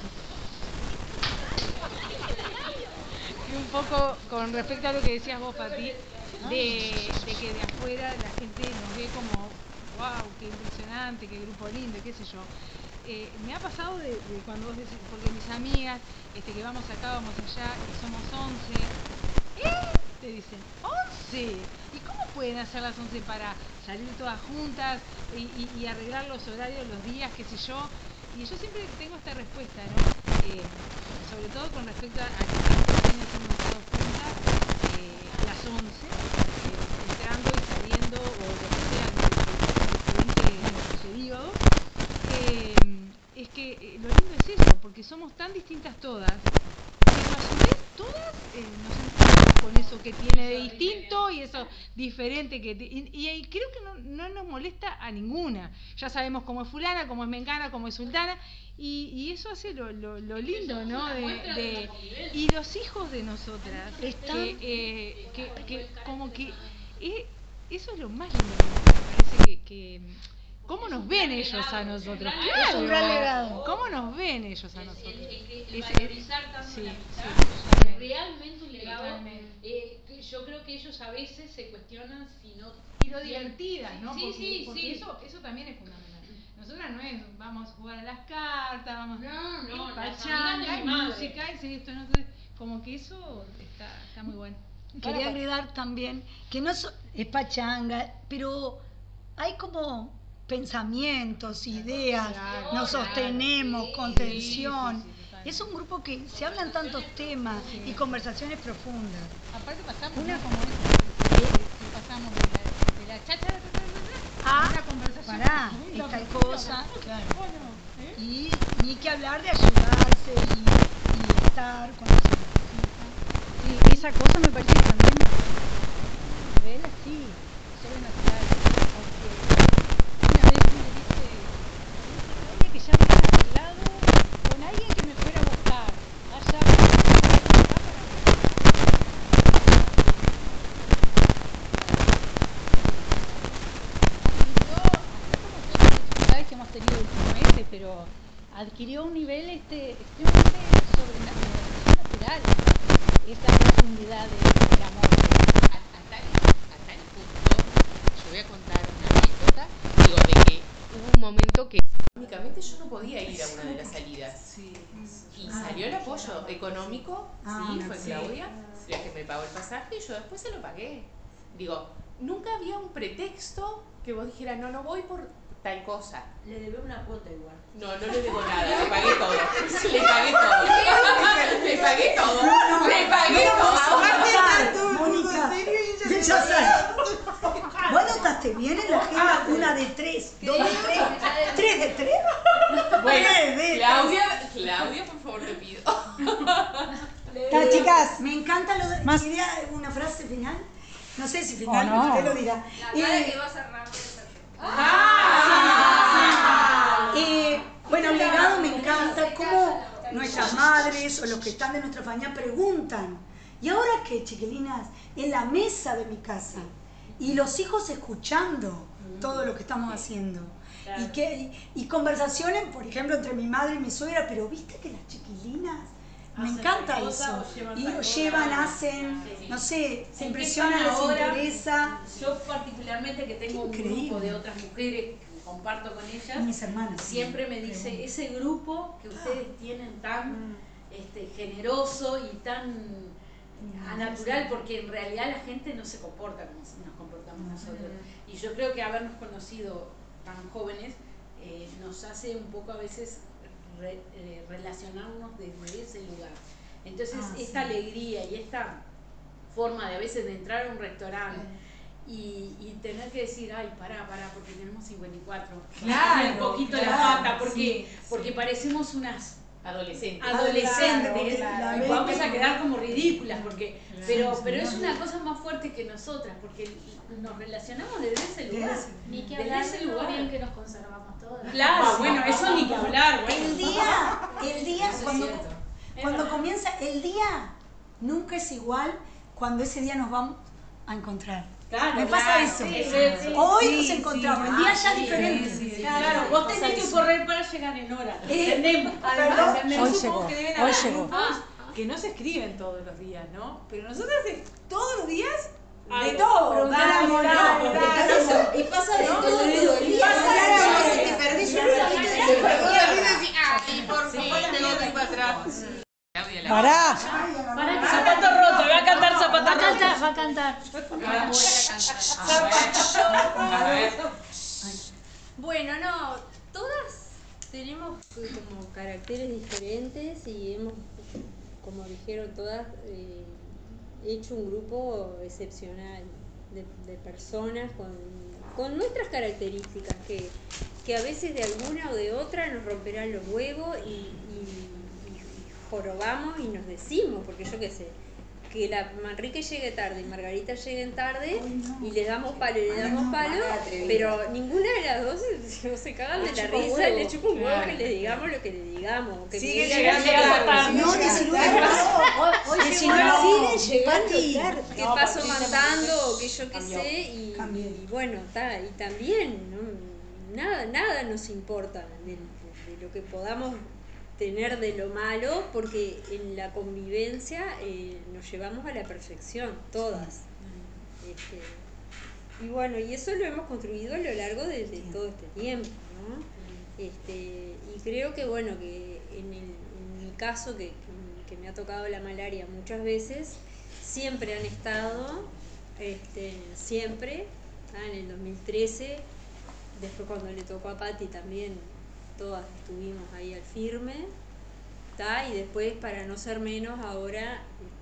Y un poco con respecto a lo que decías vos, Pati, de que de afuera la gente nos ve como, wow, qué impresionante, qué grupo lindo, qué sé yo. Me ha pasado de cuando vos decís, porque mis amigas, que vamos acá, vamos allá, y somos 11, te dicen, ¿11? ¿Y cómo pueden hacer las 11 para salir todas juntas y arreglar los horarios, los días, qué sé yo? Y yo siempre tengo esta respuesta, ¿no? Sobre todo con respecto a que tantos años hemos estado juntas, a las 11, entrando y saliendo, o lo que sea, en diferentes periodos, es que lo lindo es eso, porque somos tan distintas todas, pero a su vez todas nos encontramos con eso que tiene de distinto y eso diferente y creo que no nos molesta a ninguna. Ya sabemos cómo es fulana, cómo es mengana, cómo es sultana, y eso hace lo lindo, ¿no? Y los hijos de nosotras, que como que eso es lo más lindo, me parece ¿cómo nos ven ellos a nosotros? Es un gran legado. ¿Cómo nos ven ellos a nosotros? El valorizar tanto la realmente un legado. Yo creo que ellos a veces se cuestionan si no. Y lo divertidas, ¿no? Sí, porque eso también es fundamental. Nosotras no es, vamos a jugar a las cartas, vamos no, pachanga, y música, y esto, no, como que eso está muy bueno. Quería agregar también que no es pachanga, pero hay como pensamientos, ideas, nos sostenemos, contención. Es un grupo que se hablan tantos temas y conversaciones profundas. Aparte pasamos una como pasamos de la cháchara a una conversación. Pará, esta cosa, claro. Y ni que hablar de ayudarse y estar con los demás. Sí, esa cosa me parece que también a nivel así, sobrenatural, porque una vez me dice, oye, que ya me han arreglado con alguien que me fuera a buscar, allá que hemos tenido últimamente, pero adquirió un nivel extremadamente sobrenatural esa profundidad del amor. A tal punto, yo voy a contar una anécdota, digo, de que hubo un momento que únicamente yo no podía ir a una de las salidas. Y salió el apoyo económico, fue Claudia, la que me pagó el pasaje, y yo después se lo pagué. Digo, nunca había un pretexto que vos dijeras, no voy por tal cosa. Le debe una cuota igual. No le debo nada, le pagué todo. Le pagué todo. Le pagué todo. Le pagué todo. Mónica, ya sabes. ¿Vos notaste bien en la agenda una de 3, 2 de 3, 3 de 3? Bueno, Claudia, por favor, te pido. Chicas, me encanta lo de... ¿Quería una frase final? No sé si final, no. usted lo dirá. La cara que va a cerrar. Bueno, legado me encanta, cómo nuestras madres o los que están de nuestra familia preguntan, ¿y ahora qué, chiquilinas? En la mesa de mi casa, y los hijos escuchando todo lo que estamos haciendo. Y conversaciones, por ejemplo, entre mi madre y mi suegra, pero viste que las chiquilinas, me encanta eso. Y llevan, hacen, no sé, se impresionan, les interesa. Yo particularmente que tengo un grupo de otras mujeres que comparto con ellas, mis hermanas, siempre me dice, ese grupo que ustedes tienen tan generoso y tan natural, porque en realidad la gente no se comporta como nos comportamos nosotros. Y yo creo que habernos conocido tan jóvenes nos hace un poco a veces relacionarnos desde ese lugar. Entonces esta alegría y esta forma de a veces de entrar a un restaurante y tener que decir, ay, pará, porque tenemos 54, un poquito la pata, porque parecemos unas adolescentes y vamos a quedar como ridículas, pero es una cosa más fuerte que nosotras, porque nos relacionamos desde ese lugar. Ni que hablar de lo bien que nos conservamos todas. Claro, bueno, eso ni que hablar. El día cuando comienza, el día nunca es igual cuando ese día nos vamos a encontrar. Claro, me pasa eso. Hoy nos encontramos, el día ya diferente. Claro, vos tenés que correr para llegar en hora. Entendemos. Además, hoy llegó. Que deben haber grupos que no se escriben todos los días, ¿no? Pero nosotros todos los días de todo. Y pasa de todo el día. Te perdés un ratito ¿Y por qué tengo que ir para atrás? Pará. Zapato roto, va a cantar zapato roto. Va a cantar. Bueno, no, todas tenemos como caracteres diferentes y hemos, como dijeron todas, hecho un grupo excepcional de personas con nuestras características que a veces de alguna o de otra nos romperán los huevos y jorobamos y nos decimos, porque yo qué sé, que la Manrique llegue tarde y Margarita lleguen tarde y le damos palo, pero ninguna de las dos se cagan de la risa y le chupa un huevo que le digamos lo que le digamos. Que sigue llegando tarde. No, siguen llegando tarde. Que paso matando o que yo qué sé y bueno, y también, nada nos importa de lo que podamos tener de lo malo, porque en la convivencia nos llevamos a la perfección, todas. Y bueno, y eso lo hemos construido a lo largo de todo este tiempo, ¿no? Y creo que bueno, que en mi caso, que me ha tocado la malaria muchas veces, siempre han estado, siempre, en el 2013, después cuando le tocó a Pati también, todas estuvimos ahí al firme, y después, para no ser menos, ahora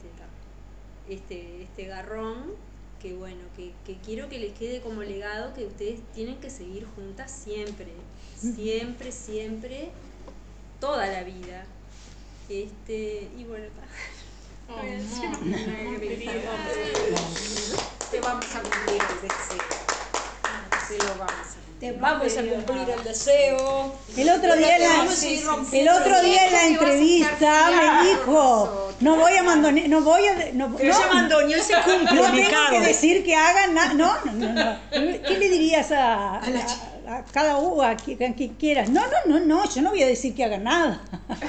este garrón, que bueno, que quiero que les quede como legado que ustedes tienen que seguir juntas siempre, siempre, siempre, toda la vida. Y bueno, te vamos a cumplir el deseo. Te lo vamos a cumplir. Te vamos a cumplir el deseo. El otro día en la entrevista me dijo, no voy a abandonar, Pero ya abandonó, se cumple. No tengo que decir que hagan nada. No. ¿Qué le dirías a cada uno, a quien quieras? No, yo no voy a decir que hagan nada.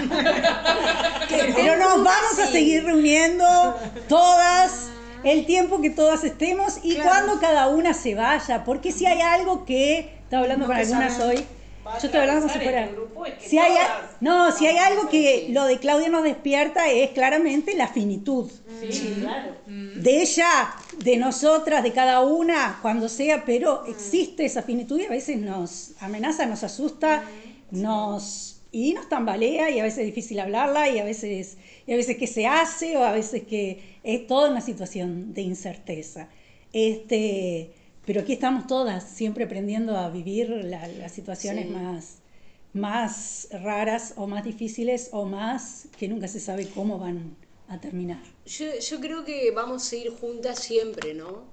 Pero nos vamos a seguir reuniendo todas el tiempo que todas estemos y cuando cada una se vaya, porque si hay algo que estaba hablando con algunas hoy, yo estoy hablando como si fuera, si hay algo que lo de Claudia nos despierta es claramente la finitud. Sí, claro. De ella, de nosotras, de cada una, cuando sea, pero existe esa finitud y a veces nos amenaza, nos asusta, y nos tambalea, y a veces es difícil hablarla, y a veces que se hace, o a veces que es toda una situación de incerteza. Pero aquí estamos todas, siempre aprendiendo a vivir las situaciones más raras, o más difíciles, o más que nunca se sabe cómo van a terminar. Yo creo que vamos a ir juntas siempre, ¿no?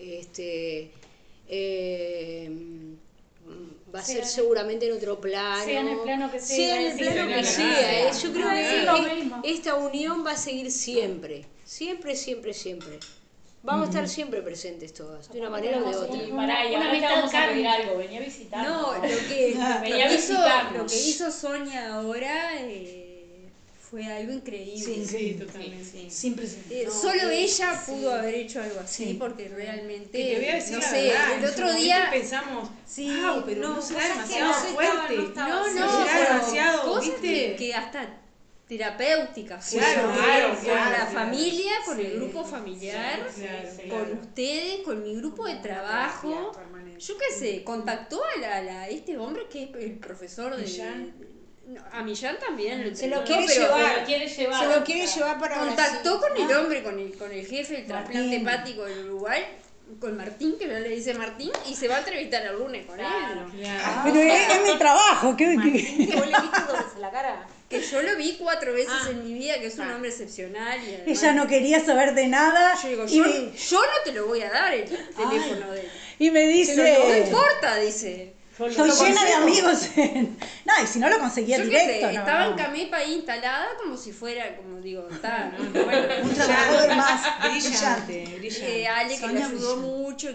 Va a ser seguramente en otro plano. Sea en el plano que sea. Sea en el plano que sea. Yo creo que esta unión va a seguir siempre. Siempre, siempre, siempre. Vamos a estar siempre presentes todas, de una manera o de otra. Y ahora te vamos a pedir algo, venía a visitarnos. No, lo que hizo Sonia ahora fue algo increíble. Sí, totalmente. Sin precedentes. Solo ella pudo haber hecho algo así, porque realmente, no sé, el otro día pensamos, pero no será demasiado fuerte. No, será demasiado, cosas ¿viste? que hasta terapéuticas, claro, con la familia, con el grupo familiar, con ustedes, con mi grupo de trabajo. Yo qué sé, contactó a este hombre que es el profesor de... A Millán también se lo quiere llevar. Se lo quiere llevar para contactó con el hombre, con el jefe del trasplante hepático del Uruguay, con Martín, que no le dice Martín, y se va a entrevistar el lunes con él. Pero es mi trabajo. Martín, que vos le viste la cara. Que yo lo vi 4 veces en mi vida, que es un hombre excepcional. Y además, ella no quería saber de nada. Yo digo, yo no te lo voy a dar el teléfono de él. Y me dice... No importa, dice. Estoy llena de amigos. No, y si no lo conseguía directo. Estaba en Camepa ahí instalada como si fuera, como digo, está, bueno, un trabajador más brillante. Ale, que me ayudó mucho,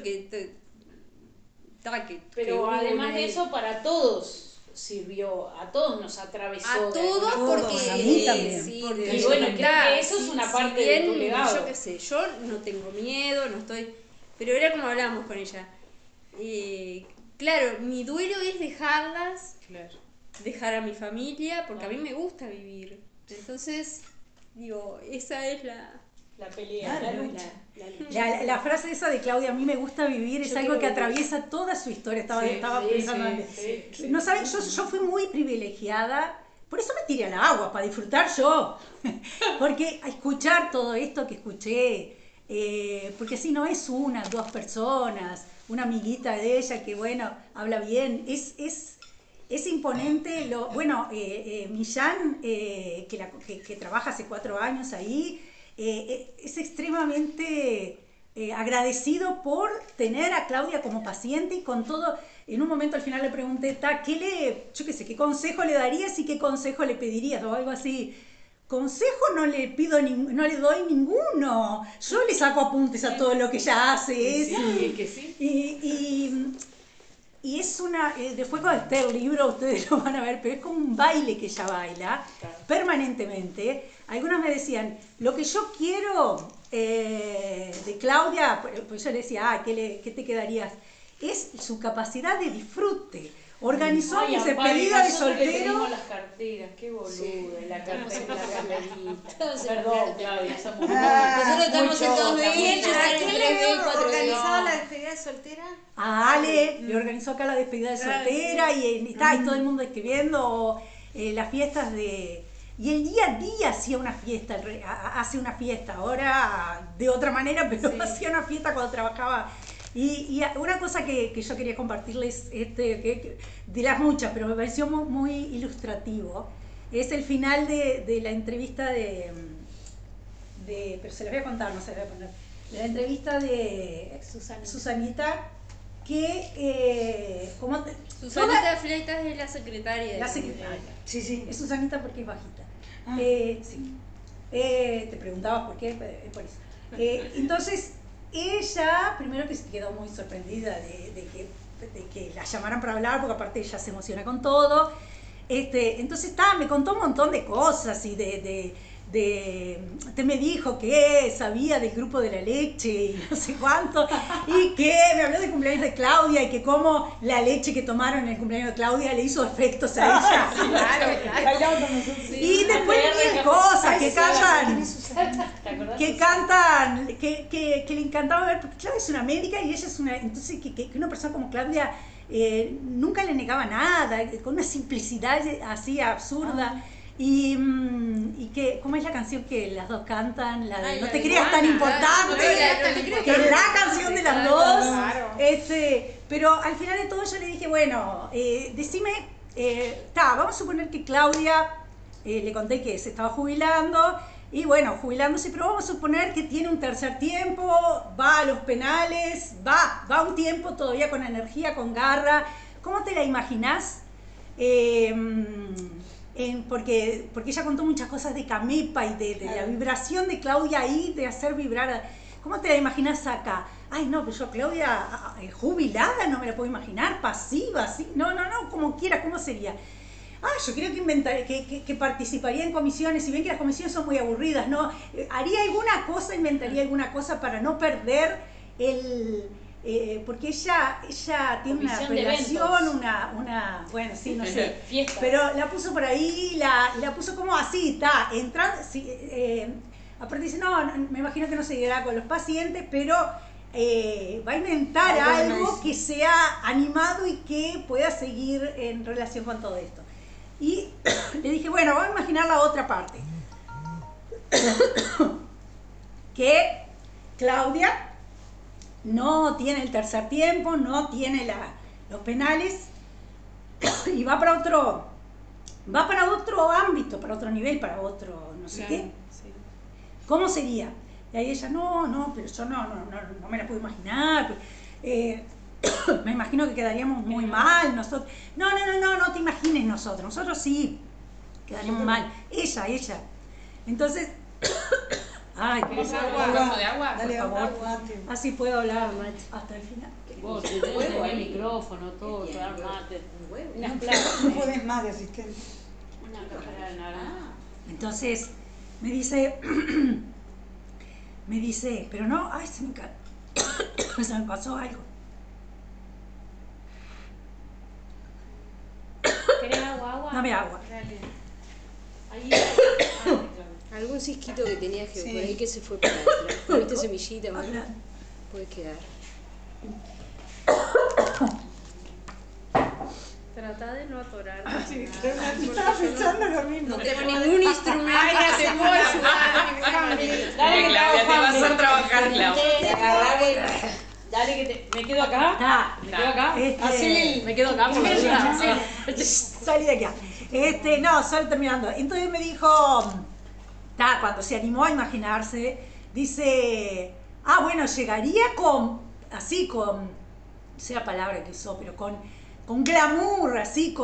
pero además de eso, para todos sirvió, a todos nos atravesó. A todos, porque a mí también. Sí, y bueno, creo que eso es una parte de tu legado. Yo qué sé, yo no tengo miedo, no estoy, pero era como hablábamos con ella. Claro, mi duelo es dejarlas, dejar a mi familia, porque a mí me gusta vivir. Entonces, digo, esa es la pelea, la lucha. La frase esa de Claudia, a mí me gusta vivir, es algo que atraviesa toda su historia. Estaba pensando antes. No saben, yo fui muy privilegiada, por eso me tiré al agua, para disfrutar yo. Porque a escuchar todo esto que escuché, porque si no es 1, 2 personas, una amiguita de ella que bueno, habla bien, es imponente. Millán, que trabaja hace 4 años ahí, es extremadamente agradecido por tener a Claudia como paciente y con todo. En un momento al final le pregunté, ¿qué consejo le darías y qué consejo le pedirías? O algo así. Consejo no le doy ninguno. Yo le saco apuntes a todo lo que ella hace. Sí, es que sí. y es después cuando esté el libro ustedes lo van a ver, pero es como un baile que ella baila permanentemente. Algunos me decían, lo que yo quiero de Claudia, pues yo le decía, ¿qué te quedarías? Es su capacidad de disfrute. Organizó mi despedida de soltero. Las carteras, qué boluda, Sí. la cartera, la carterita. Perdón, Claudia, somos nosotros estamos en 2B, ¿Quién ellos están en 3B, 4B. organizaba la despedida de soltera? A Ale le organizó acá la despedida de soltera y todo el mundo escribiendo las fiestas de... Y el día a día hacía una fiesta, hace una fiesta, ahora de otra manera, pero hacía una fiesta cuando trabajaba. Y una cosa que yo quería compartirles, de las muchas, pero me pareció muy ilustrativo, es el final de la entrevista pero se las voy a contar, no se las voy a poner, de la entrevista de Susanita, que... Susanita Fleitas es la secretaria. La secretaria, sí, es Susanita porque es bajita. Sí. Te preguntabas por qué, por eso. Entonces, ella, primero que se quedó muy sorprendida de que la llamaran para hablar, porque aparte ella se emociona con todo. Entonces me contó un montón de cosas y me dijo que sabía del grupo de la leche y no sé cuánto, y que me habló del cumpleaños de Claudia y que cómo la leche que tomaron en el cumpleaños de Claudia le hizo efectos a ella. Claro. Y después mil cosas que le encantaba ver, porque Claudia es una médica y ella es entonces que una persona como Claudia nunca le negaba nada, con una simplicidad así absurda. Y que, ¿cómo es la canción que las dos cantan? La de No te creas tan importante, que es la canción de las dos. Pero al final de todo yo le dije, bueno, decime, vamos a suponer que Claudia, le conté que se estaba jubilando, y bueno, jubilándose, pero vamos a suponer que tiene un tercer tiempo, va a los penales, va un tiempo todavía con energía, con garra. ¿Cómo te la imaginás? Porque ella contó muchas cosas de Camepa y de la vibración de Claudia ahí, de hacer vibrar. ¿Cómo te la imaginas acá? Ay, no, pero yo Claudia jubilada no me la puedo imaginar, pasiva, ¿sí? No, como quiera, ¿cómo sería? Yo creo que participaría en comisiones, si bien que las comisiones son muy aburridas, ¿no? Haría alguna cosa, inventaría alguna cosa para no perder porque ella tiene una relación, bueno, sí, no sé, fiestas. Pero la puso por ahí, la puso como así, entrando, aparte dice, no, me imagino que no se llegará con los pacientes, pero va a inventar algo que sea animado y que pueda seguir en relación con todo esto. Y le dije, bueno, vamos a imaginar la otra parte. Que Claudia no tiene el tercer tiempo, no tiene los penales y va para otro ámbito, para otro nivel, para otro no sé qué. Sí. ¿Cómo sería? Y ahí ella, no, pero yo no me la puedo imaginar. Me imagino que quedaríamos muy mal nosotros. No te imagines nosotros sí quedaríamos mal. Ella. Entonces, ¿quieres agua? ¿Un vaso de agua? Dale, por favor. Así puedo hablar hasta el final. Vos, si tenés el micrófono, todo, dar mate. No podés más de asistente. Una cáscara de naranja. Entonces, me dice, pero no, se me pasó algo. ¿Querés agua? Dame agua. Algún cisquito que tenías por ahí que se fue para atrás. ¿Viste semillita? Puede quedar. Trata de no atorar. Estaba pensando lo mismo. No tengo ningún instrumento. Ay, no te puedo ayudar. Dale, Claudia, te va a hacer trabajar, Claudia. Dale que me quedo acá. Me quedo acá. Me quedo acá. Salí de acá. No, solo terminando. Entonces me dijo, cuando se animó a imaginarse, dice, bueno, llegaría con, sea palabra que usó, pero con glamour, así,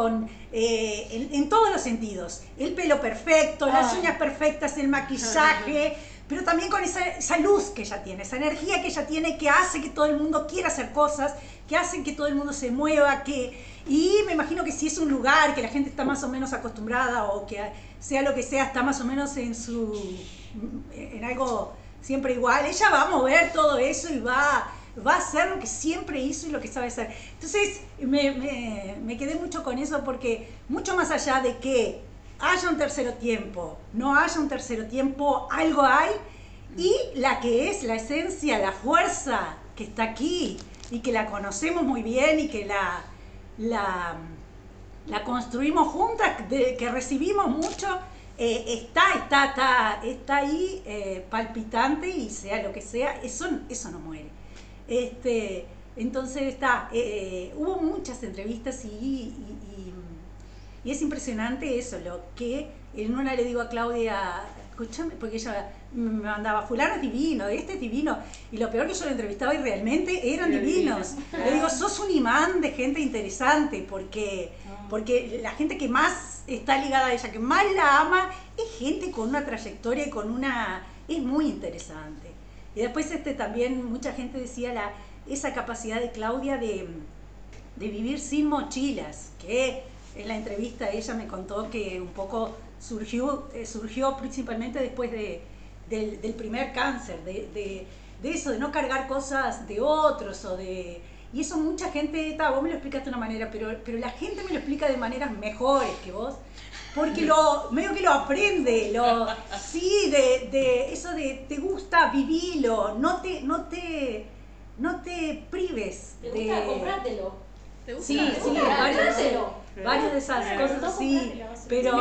en todos los sentidos. El pelo perfecto, las uñas perfectas, el maquillaje, pero también con esa luz que ella tiene, esa energía que ella tiene, que hace que todo el mundo quiera hacer cosas, que hace que todo el mundo se mueva, y me imagino que si es un lugar que la gente está más o menos acostumbrada, o que sea lo que sea, está más o menos en algo siempre igual, ella va a mover todo eso y va a hacer lo que siempre hizo y lo que sabe hacer. Entonces me quedé mucho con eso, porque mucho más allá de que haya un tercer tiempo, no haya un tercer tiempo, algo hay, y la que es la esencia, la fuerza que está aquí y que la conocemos muy bien y que la construimos juntas, que recibimos mucho, está ahí palpitante, y sea lo que sea, eso no muere. Entonces hubo muchas entrevistas y es impresionante eso, lo que en una le digo a Claudia, escúchame, porque ella me mandaba, fulano es divino, este es divino, y lo peor que yo lo entrevistaba y realmente eran divinos. Le digo, sos un imán de gente interesante, porque la gente que más está ligada a ella, que más la ama, es gente con una trayectoria y es muy interesante. Y después también mucha gente decía esa capacidad de Claudia de vivir sin mochilas, que en la entrevista ella me contó que un poco surgió principalmente después del primer cáncer, de eso, de no cargar cosas de otros, y eso mucha gente, vos me lo explicaste de una manera, pero la gente me lo explica de maneras mejores que vos, porque medio que lo aprende, de eso de te gusta, vivilo, no te prives te gusta comprártelo. Sí, varias de esas cosas, sí, pero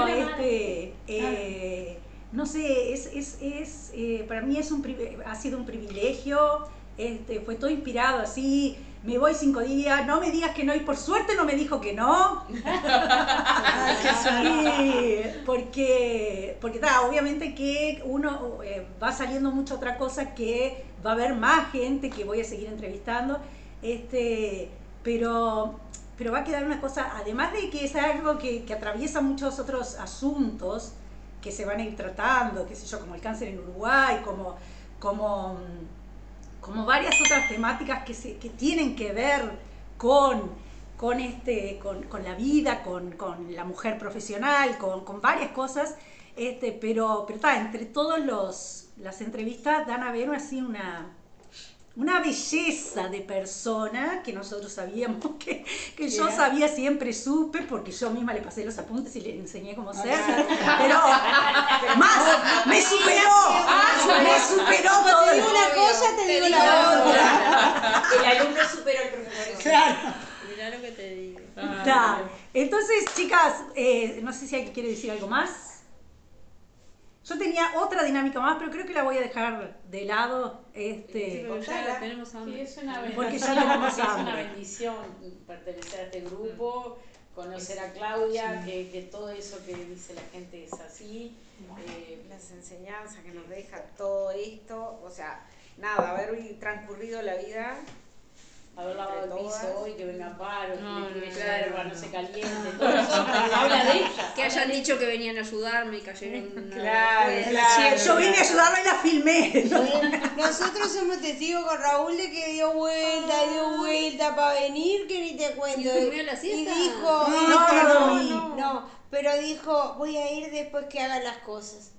no sé, para mí ha sido un privilegio, fue todo inspirado así. Me voy 5 días, no me digas que no, y por suerte no me dijo que no. Porque obviamente que uno va saliendo mucho otra cosa, que va a haber más gente que voy a seguir entrevistando, pero va a quedar una cosa, además de que es algo que atraviesa muchos otros asuntos que se van a ir tratando, qué sé yo, como el cáncer en Uruguay, como varias otras temáticas que tienen que ver con la vida, con la mujer profesional, con varias cosas, pero entre todas las entrevistas dan a ver así una belleza de persona que nosotros sabíamos, que yo sabía, siempre supe, porque yo misma le pasé los apuntes y le enseñé cómo ser, pero más, me superó todo. Te digo una cosa, te digo la otra. El alumno superó al profesor. Claro. Mirá lo que te digo. Entonces, chicas, no sé si alguien quiere decir algo más. Yo tenía otra dinámica más, pero creo que la voy a dejar de lado. Porque ya la tenemos hambre. Sí, es una bendición. Porque ya tenemos Es hambre. una bendición pertenecer a este grupo, conocer a Claudia, que todo eso que dice la gente es así. Las enseñanzas que nos deja todo esto, o sea, nada, haber transcurrido la vida, haber lavado el piso hoy, que venga paro, que le tire yerba, no se caliente, No. todo eso habla de ella. Que hayan dicho que venían a ayudarme y cayeron. Claro. Yo vine a ayudarla y la filmé. Nosotros somos testigos con Raúl de que dio vuelta para venir, que ni te cuento. ¿Y durmió la Y siesta? dijo, no, pero dijo, voy a ir después que hagan las cosas.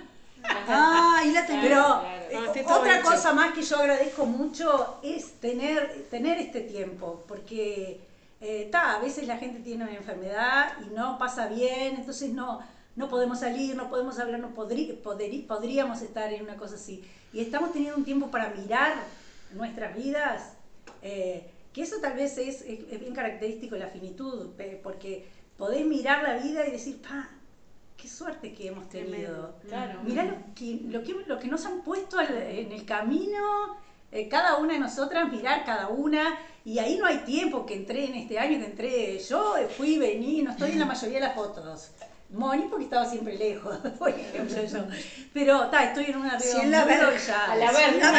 Pero otra cosa más que yo agradezco mucho es tener este tiempo, porque a veces la gente tiene una enfermedad y no pasa bien, entonces no podemos salir, no podemos hablar, podríamos estar en una cosa así. Y estamos teniendo un tiempo para mirar nuestras vidas, que eso tal vez es bien característico de la finitud, porque podés mirar la vida y decir, qué suerte que hemos tenido. Claro. Mirá lo que nos han puesto en el camino, cada una de nosotras, mirar cada una, y ahí no hay tiempo que entré en este año, yo fui, vení, no estoy en la mayoría de las fotos. Moni porque estaba siempre lejos, por ejemplo yo. Pero estoy en una Sí, en la verja. A la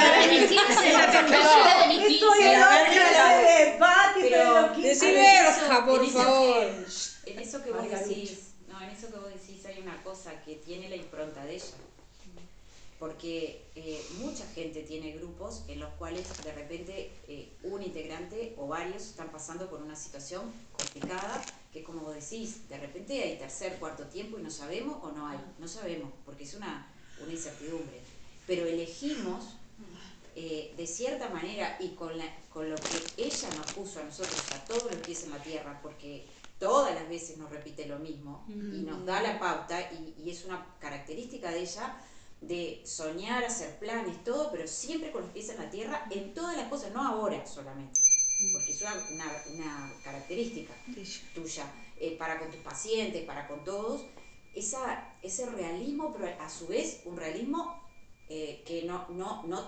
Estoy en la verja de Pati, pero decí verja, por favor. En eso que vos decís, hay una cosa que tiene la impronta de ella. porque mucha gente tiene grupos en los cuales de repente un integrante o varios están pasando por una situación complicada, que como vos decís, de repente hay tercer, cuarto tiempo y no sabemos o no hay, no sabemos, porque es una incertidumbre, pero elegimos de cierta manera y con lo que ella nos puso a nosotros, a todos los pies en la tierra, porque todas las veces nos repite lo mismo y nos da la pauta y es una característica de ella de soñar, hacer planes, todo, pero siempre con los pies en la tierra en todas las cosas, no ahora solamente, porque es una característica tuya, para con tus pacientes, para con todos, ese realismo, pero a su vez un realismo que no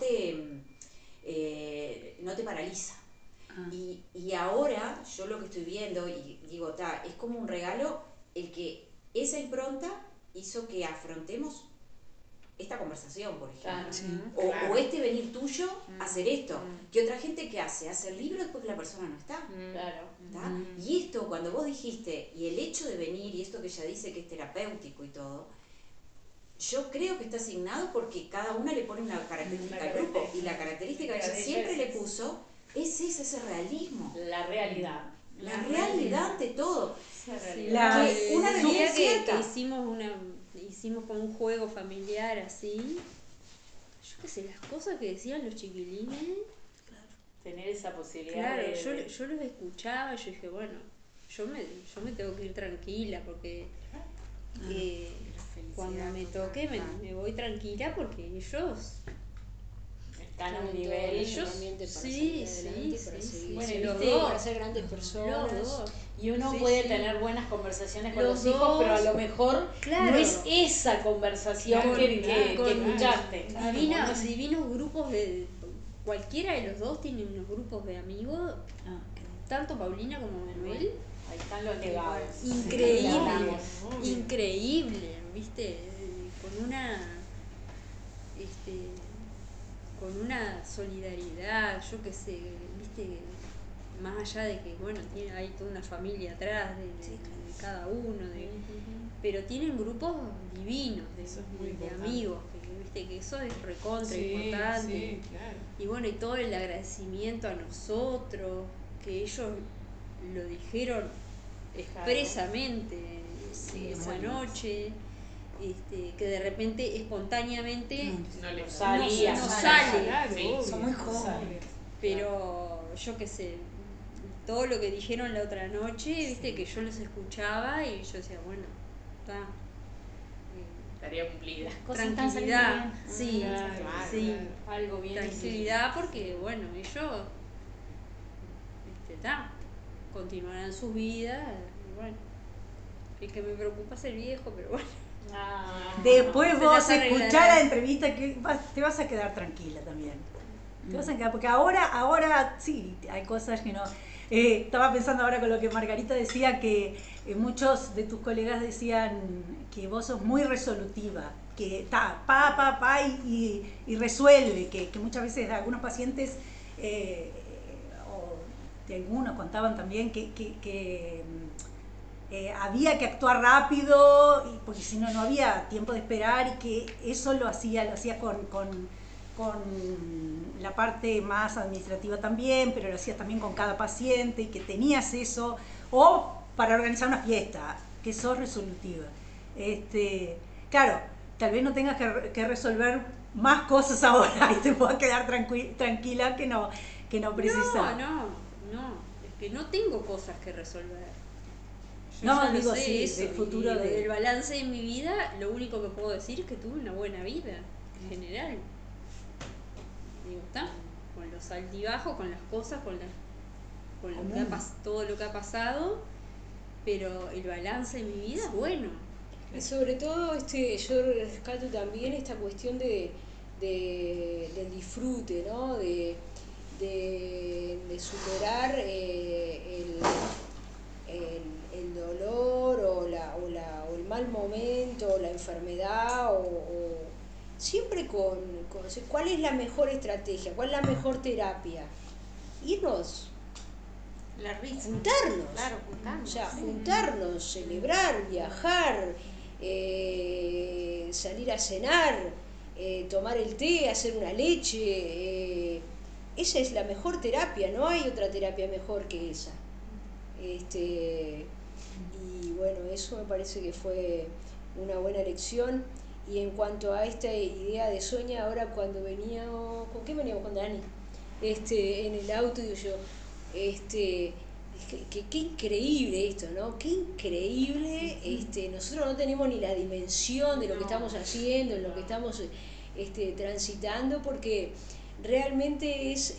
te paraliza. Y ahora yo lo que estoy viendo, y digo, es como un regalo el que esa impronta hizo que afrontemos esta conversación, por ejemplo, o este venir tuyo a hacer esto, que otra gente que hace el libro después que la persona no está. Y esto, cuando vos dijiste, y el hecho de venir, y esto que ella dice que es terapéutico y todo, yo creo que está asignado porque cada una le pone una característica al grupo, y la característica que ella siempre le puso es ese realismo. La realidad. La realidad ante todo. Una realidad que hicimos como un juego familiar así. Yo qué sé, las cosas que decían los chiquilines. Tener esa posibilidad yo los escuchaba, yo dije, bueno, yo me tengo que ir tranquila porque cuando me toque me voy tranquila porque ellos están a un nivel, ellos sí, bueno, para ser grandes personas. Los dos. Y uno puede tener buenas conversaciones con los hijos, pero a lo mejor no es esa conversación que escuchaste. Divinos grupos de... Cualquiera de los dos tiene unos grupos de amigos, tanto Paulina como Manuel. Ahí están los legados. Increíble, ¿viste? Con una solidaridad, yo qué sé, ¿viste? Más allá de que, bueno, hay toda una familia atrás de cada uno, pero tienen grupos divinos de amigos, ¿viste? Que eso es recontra importante. Y bueno, y todo el agradecimiento a nosotros, que ellos lo dijeron expresamente esa noche. Que de repente espontáneamente no sale. Son muy jóvenes. Pero yo qué sé, todo lo que dijeron la otra noche, viste, que yo los escuchaba y yo decía, bueno, está. Tarea cumplida. Las cosas Tranquilidad, están algo bien. Tranquilidad porque, bueno, ellos continuarán sus vidas. Y bueno, el que me preocupa es el viejo, pero bueno. Después vos escuchás la entrevista que te vas a quedar tranquila también. Te vas a quedar, porque ahora sí, hay cosas que no. Estaba pensando ahora con lo que Margarita decía, que muchos de tus colegas decían que vos sos muy resolutiva, que está y resuelve, que muchas veces algunos pacientes, o de algunos contaban también que había que actuar rápido, porque si no había tiempo de esperar, y que eso lo hacía con la parte más administrativa también, pero lo hacías también con cada paciente, y que tenías eso, o para organizar una fiesta, que sos resolutiva. Claro, tal vez no tengas que resolver más cosas ahora y te puedas quedar tranquila que no precisas. No, es que no tengo cosas que resolver. No, digo, sí, del futuro del balance de mi vida, lo único que puedo decir es que tuve una buena vida, en general. Digo, con los altibajos, con las cosas, con todo lo que ha pasado, pero el balance de mi vida es bueno. Y sobre todo, yo rescato también esta cuestión del disfrute, ¿no? De superar el dolor o el mal momento o la enfermedad o siempre con cuál es la mejor estrategia, cuál es la mejor terapia. Irnos, juntarnos, o sea, juntarnos, celebrar, viajar, salir a cenar, tomar el té, hacer una leche. Esa es la mejor terapia, no hay otra terapia mejor que esa. Y bueno, eso me parece que fue una buena lección. Y en cuanto a esta idea de Sonia, ahora cuando veníamos, ¿con qué veníamos? Con Dani, en el auto, digo yo, qué increíble esto, ¿no? Qué increíble, nosotros no tenemos ni la dimensión de lo que estamos haciendo, en lo que estamos transitando, porque realmente es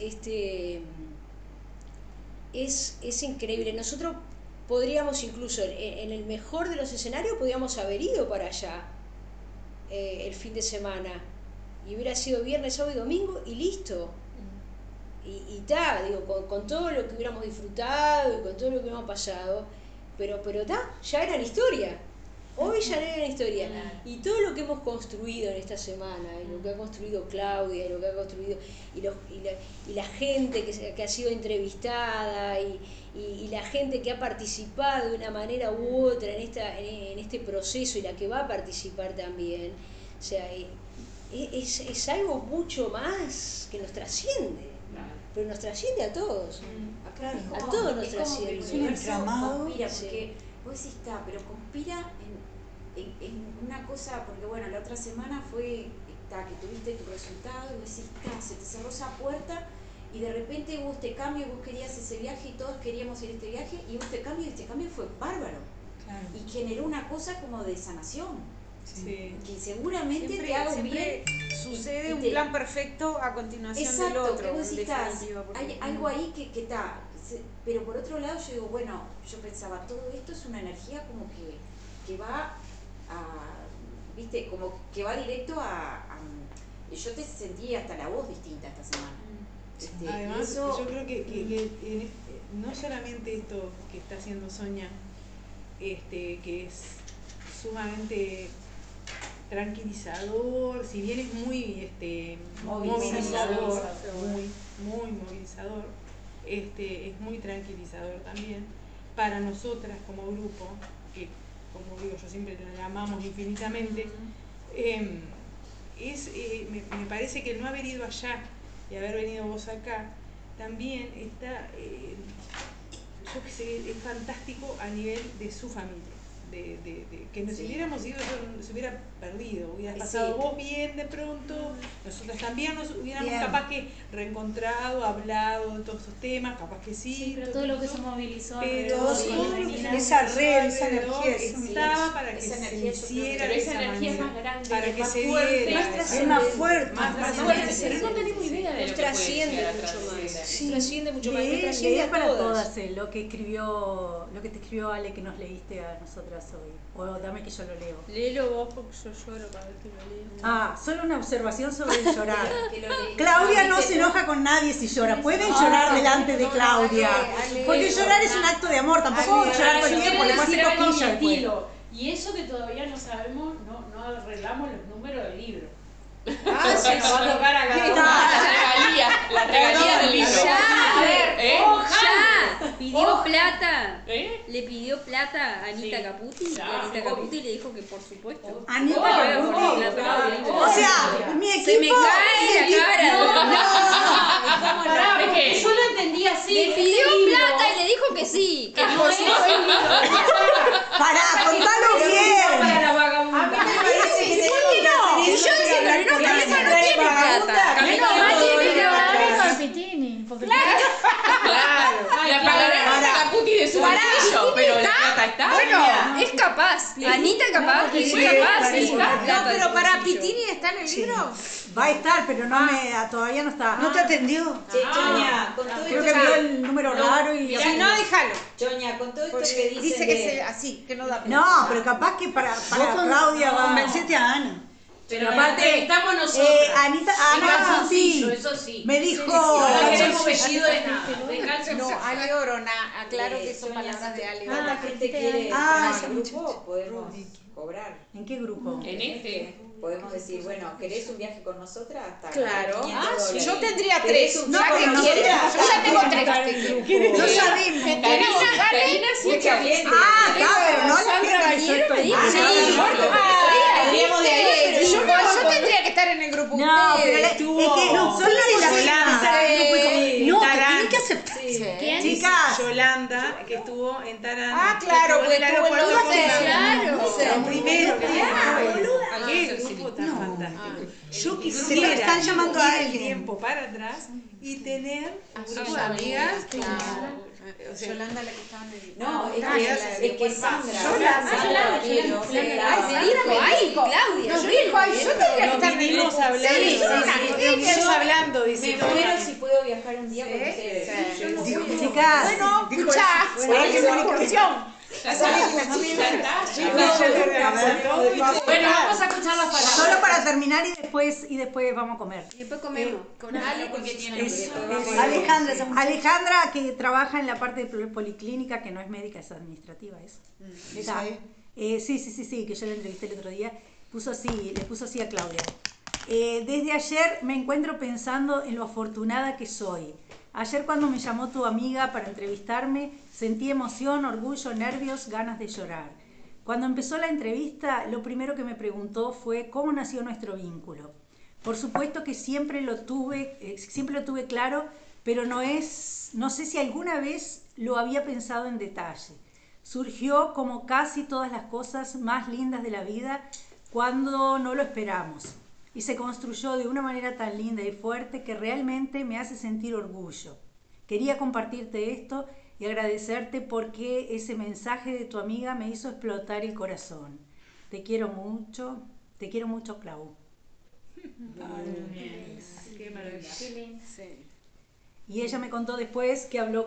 increíble. Nosotros podríamos incluso, en el mejor de los escenarios, podríamos haber ido para allá el fin de semana, y hubiera sido viernes, sábado y domingo, y listo. Y digo, con todo lo que hubiéramos disfrutado y con todo lo que hubiéramos pasado, pero ya eran historia. Hoy ya eran historia. Y todo lo que hemos construido en esta semana, y lo que ha construido Claudia, y lo que ha construido, y la gente que ha sido entrevistada, y la gente que ha participado de una manera u otra en este proceso, y la que va a participar también, o sea, es algo mucho más que nos trasciende. Pero nos trasciende a todos. A todos nos trasciende. Es un entramado. Conspira, porque vos decís, pero conspira en una cosa, porque bueno, la otra semana fue que tuviste tu resultado y vos decís, se te cerró esa puerta y de repente hubo este cambio, vos querías ese viaje y todos queríamos ir a este viaje y hubo este cambio y este cambio fue bárbaro. Claro. Y generó una cosa como de sanación. Sí. Que seguramente te haga un bien. Sucede un plan perfecto a continuación del otro. Que vos decís, hay algo ahí que está. Pero por otro lado yo digo, bueno, yo pensaba, todo esto es una energía como que va viste, como que va directo yo te sentí hasta la voz distinta esta semana. Además, yo creo que no solamente esto que está haciendo Sonia, que es sumamente tranquilizador, si bien es muy movilizador, muy movilizador, es muy tranquilizador también para nosotras como grupo, que como digo yo siempre la amamos infinitamente. Me parece que el no haber ido allá y haber venido vos acá también está, yo qué sé, es fantástico a nivel de su familia. Que nos hubiéramos ido, se hubiera perdido, hubieras pasado vos bien de pronto, nosotros también nos hubiéramos capaz que reencontrado, hablado de todos esos temas, capaz que sí, pero todo lo que se movilizó, pero esa red, esa energía estaba para que se hiciera de esa manera, para que se diera, es más fuerte, pero no tenemos idea de lo que trasciende mucho más, trasciende para todas lo que te escribió Ale, que nos leíste a nosotras hoy, o dame que yo lo leo. Léelo vos porque yo lloro cada vez que lo leo. Solo una observación sobre el llorar. Claudia no se enoja con nadie si llora. Pueden llorar delante de Claudia, porque llorar es un acto de amor, tampoco llorar todo el tiempo, le puedes hacer cosquillas después. Y eso que todavía no sabemos, no arreglamos los números del libro. Sí, nos va a tocar acá la regalía del libro. Pidió plata. Le pidió plata a Anita Caputi. Y Anita Caputi le dijo que por supuesto. Anita Caputi. O sea, mi equipo. Se me cae la cara. Yo lo entendí así. Le pidió plata y le dijo que sí. Que por supuesto. Pará, contalo bien. A mí me parece que ¿por qué no? Y yo diciéndole, no, Calema no tiene plata. Calema tiene plata. Claro. La pagará Caputi de su bolsillo, pero la plata está. Bueno, es capaz. Anita capaz, es capaz. No, pero para Pitini está en el libro. Va a estar, pero todavía no está. ¿No te atendió? Choña, con todo creo esto que vio el número raro y... Si no, déjalo. Choña, con todo esto que dicen dice que es así, que no da. No, pero capaz que para Claudia va... Convencete a Ana. Pero aparte estamos nosotros. Ana Caputi eso sí. me dijo... No queremos apellido de nada. No, Ale Orona, aclaro que son palabras de Ale Orona. La gente quiere estar en el grupo, podemos cobrar. ¿En qué grupo? En este. Podemos decir, bueno, ¿querés un viaje con nosotras? Hasta Claro. $500. Yo tendría 3. No, ¿Ya que pero quieres? Yo ya tengo 3. No sabemos. Karina sí, mucha gente. Pero no la Ayer me dijo. Yo tendría que estar en el grupo. No, pero es que no, son las Yolanda. No, que tienen que aceptar. ¿Quién? Chicas. Yolanda, que estuvo en Tarán. Ah, claro, que estuvo en el aeropuerto con claro. lo primero que qué grupo tan fantástico. Yo quisiera están llamando ir a el alguien. tiempo para atrás y tener un grupo de amigas. O sea, Yolanda la que estaba en el... No, es que Sandra. Yolanda, Claudia. Nos dijo, ay, yo tendría que estar en el vinimos grupo. hablando. Vinimos hablando, dice. Me muero si puedo viajar un día con ustedes. Yo no Dijo, puedo. chicas. Bueno, escuchá, hay que hacer una excursión. Bueno, vamos a escuchar las palabras. Solo para terminar y después vamos a comer. Y después comemos. Con Ale porque tiene Alejandra, que trabaja en la parte de policlínica, que no es médica, es administrativa, eso. Sí, que yo la entrevisté el otro día. Le puso así a Claudia. Desde ayer me encuentro pensando en lo afortunada que soy. Ayer cuando me llamó tu amiga para entrevistarme, sentí emoción, orgullo, nervios, ganas de llorar. Cuando empezó la entrevista, lo primero que me preguntó fue cómo nació nuestro vínculo. Por supuesto que siempre lo tuve claro, pero no sé si alguna vez lo había pensado en detalle. Surgió como casi todas las cosas más lindas de la vida cuando no lo esperamos. Y se construyó de una manera tan linda y fuerte que realmente me hace sentir orgullo. Quería compartirte esto y agradecerte porque ese mensaje de tu amiga me hizo explotar el corazón. Te quiero mucho, Clau. Qué maravilla. Sí. Y ella me contó después que habló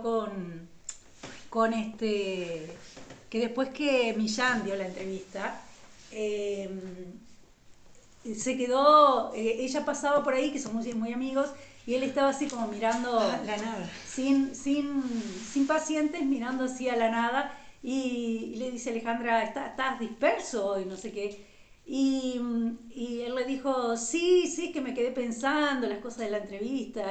que después que Millán dio la entrevista, se quedó, ella pasaba por ahí, que somos muy amigos, y él estaba así como mirando la nada, sin pacientes, mirando así a la nada, y le dice Alejandra, ¿estás disperso hoy? No sé qué. Y él le dijo, sí, es que me quedé pensando las cosas de la entrevista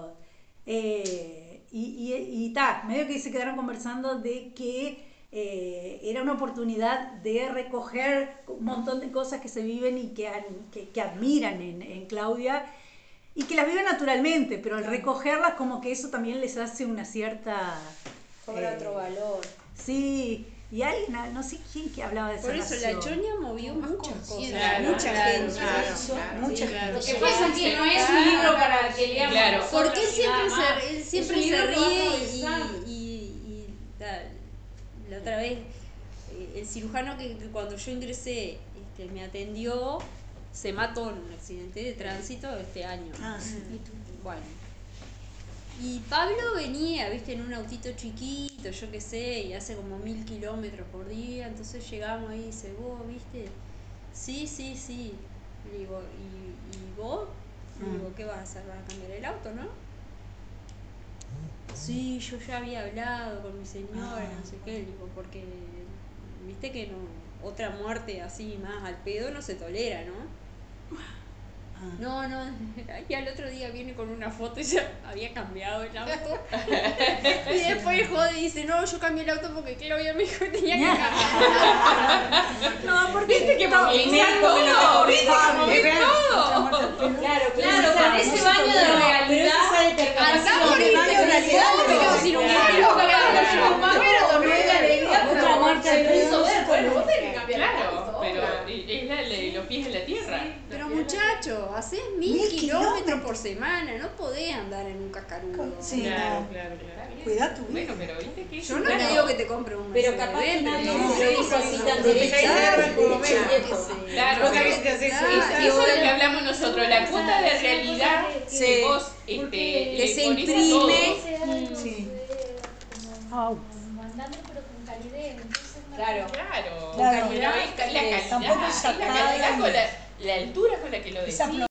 medio que se quedaron conversando de que era una oportunidad de recoger un montón de cosas que se viven y que admiran en Claudia y que las viven naturalmente, pero al recogerlas como que eso también les hace una cierta... Cobra otro valor. Sí, y alguien, no sé quién que hablaba de esa Por eso relación. la Choña movió muchas cosas, claro, mucha gente. Mucha gente. Lo que pasa es que no es un libro para que leamos. Claro. Porque él siempre se ríe la otra vez el cirujano que cuando yo ingresé me atendió se mató en un accidente de tránsito este año. Bueno, y Pablo venía, viste, en un autito chiquito, yo qué sé, y hace como 1000 kilómetros por día, entonces llegamos ahí y dice, ¿vos, viste? Sí. Le digo, ¿y vos? Le digo, ¿qué vas a hacer? ¿Vas a cambiar el auto, no? Sí, yo ya había hablado con mi señora, no sé qué, le digo, porque viste que no, otra muerte así más al pedo no se tolera, ¿no? No, y al otro día viene con una foto y ya había cambiado el auto. Y después jode y dice, no, yo cambié el auto porque Claudia me dijo que tenía que cambiar. No, porque viste que movilizar todo, viste que mover todo. Claro, con ese baño de realidad. Andamos en el baño de realidad, pero sin un otra muerte al pedo. Bueno, vos tenés que cambiar el auto. Pero es los pies en la tierra. Pero muchacho, haces 1000 kilómetros por semana, no podés andar en un cascarudo. Sí, claro. Cuidá tu vida. Bueno, pero viste que yo no te digo que te compre un pero capaz que no lo hizo así tan derecha. Claro, pero eso es lo que hablamos nosotros, la cuota de realidad que vos que se imprime. Mandando pero con calidez. Claro. La calidad con la altura con la que lo decís.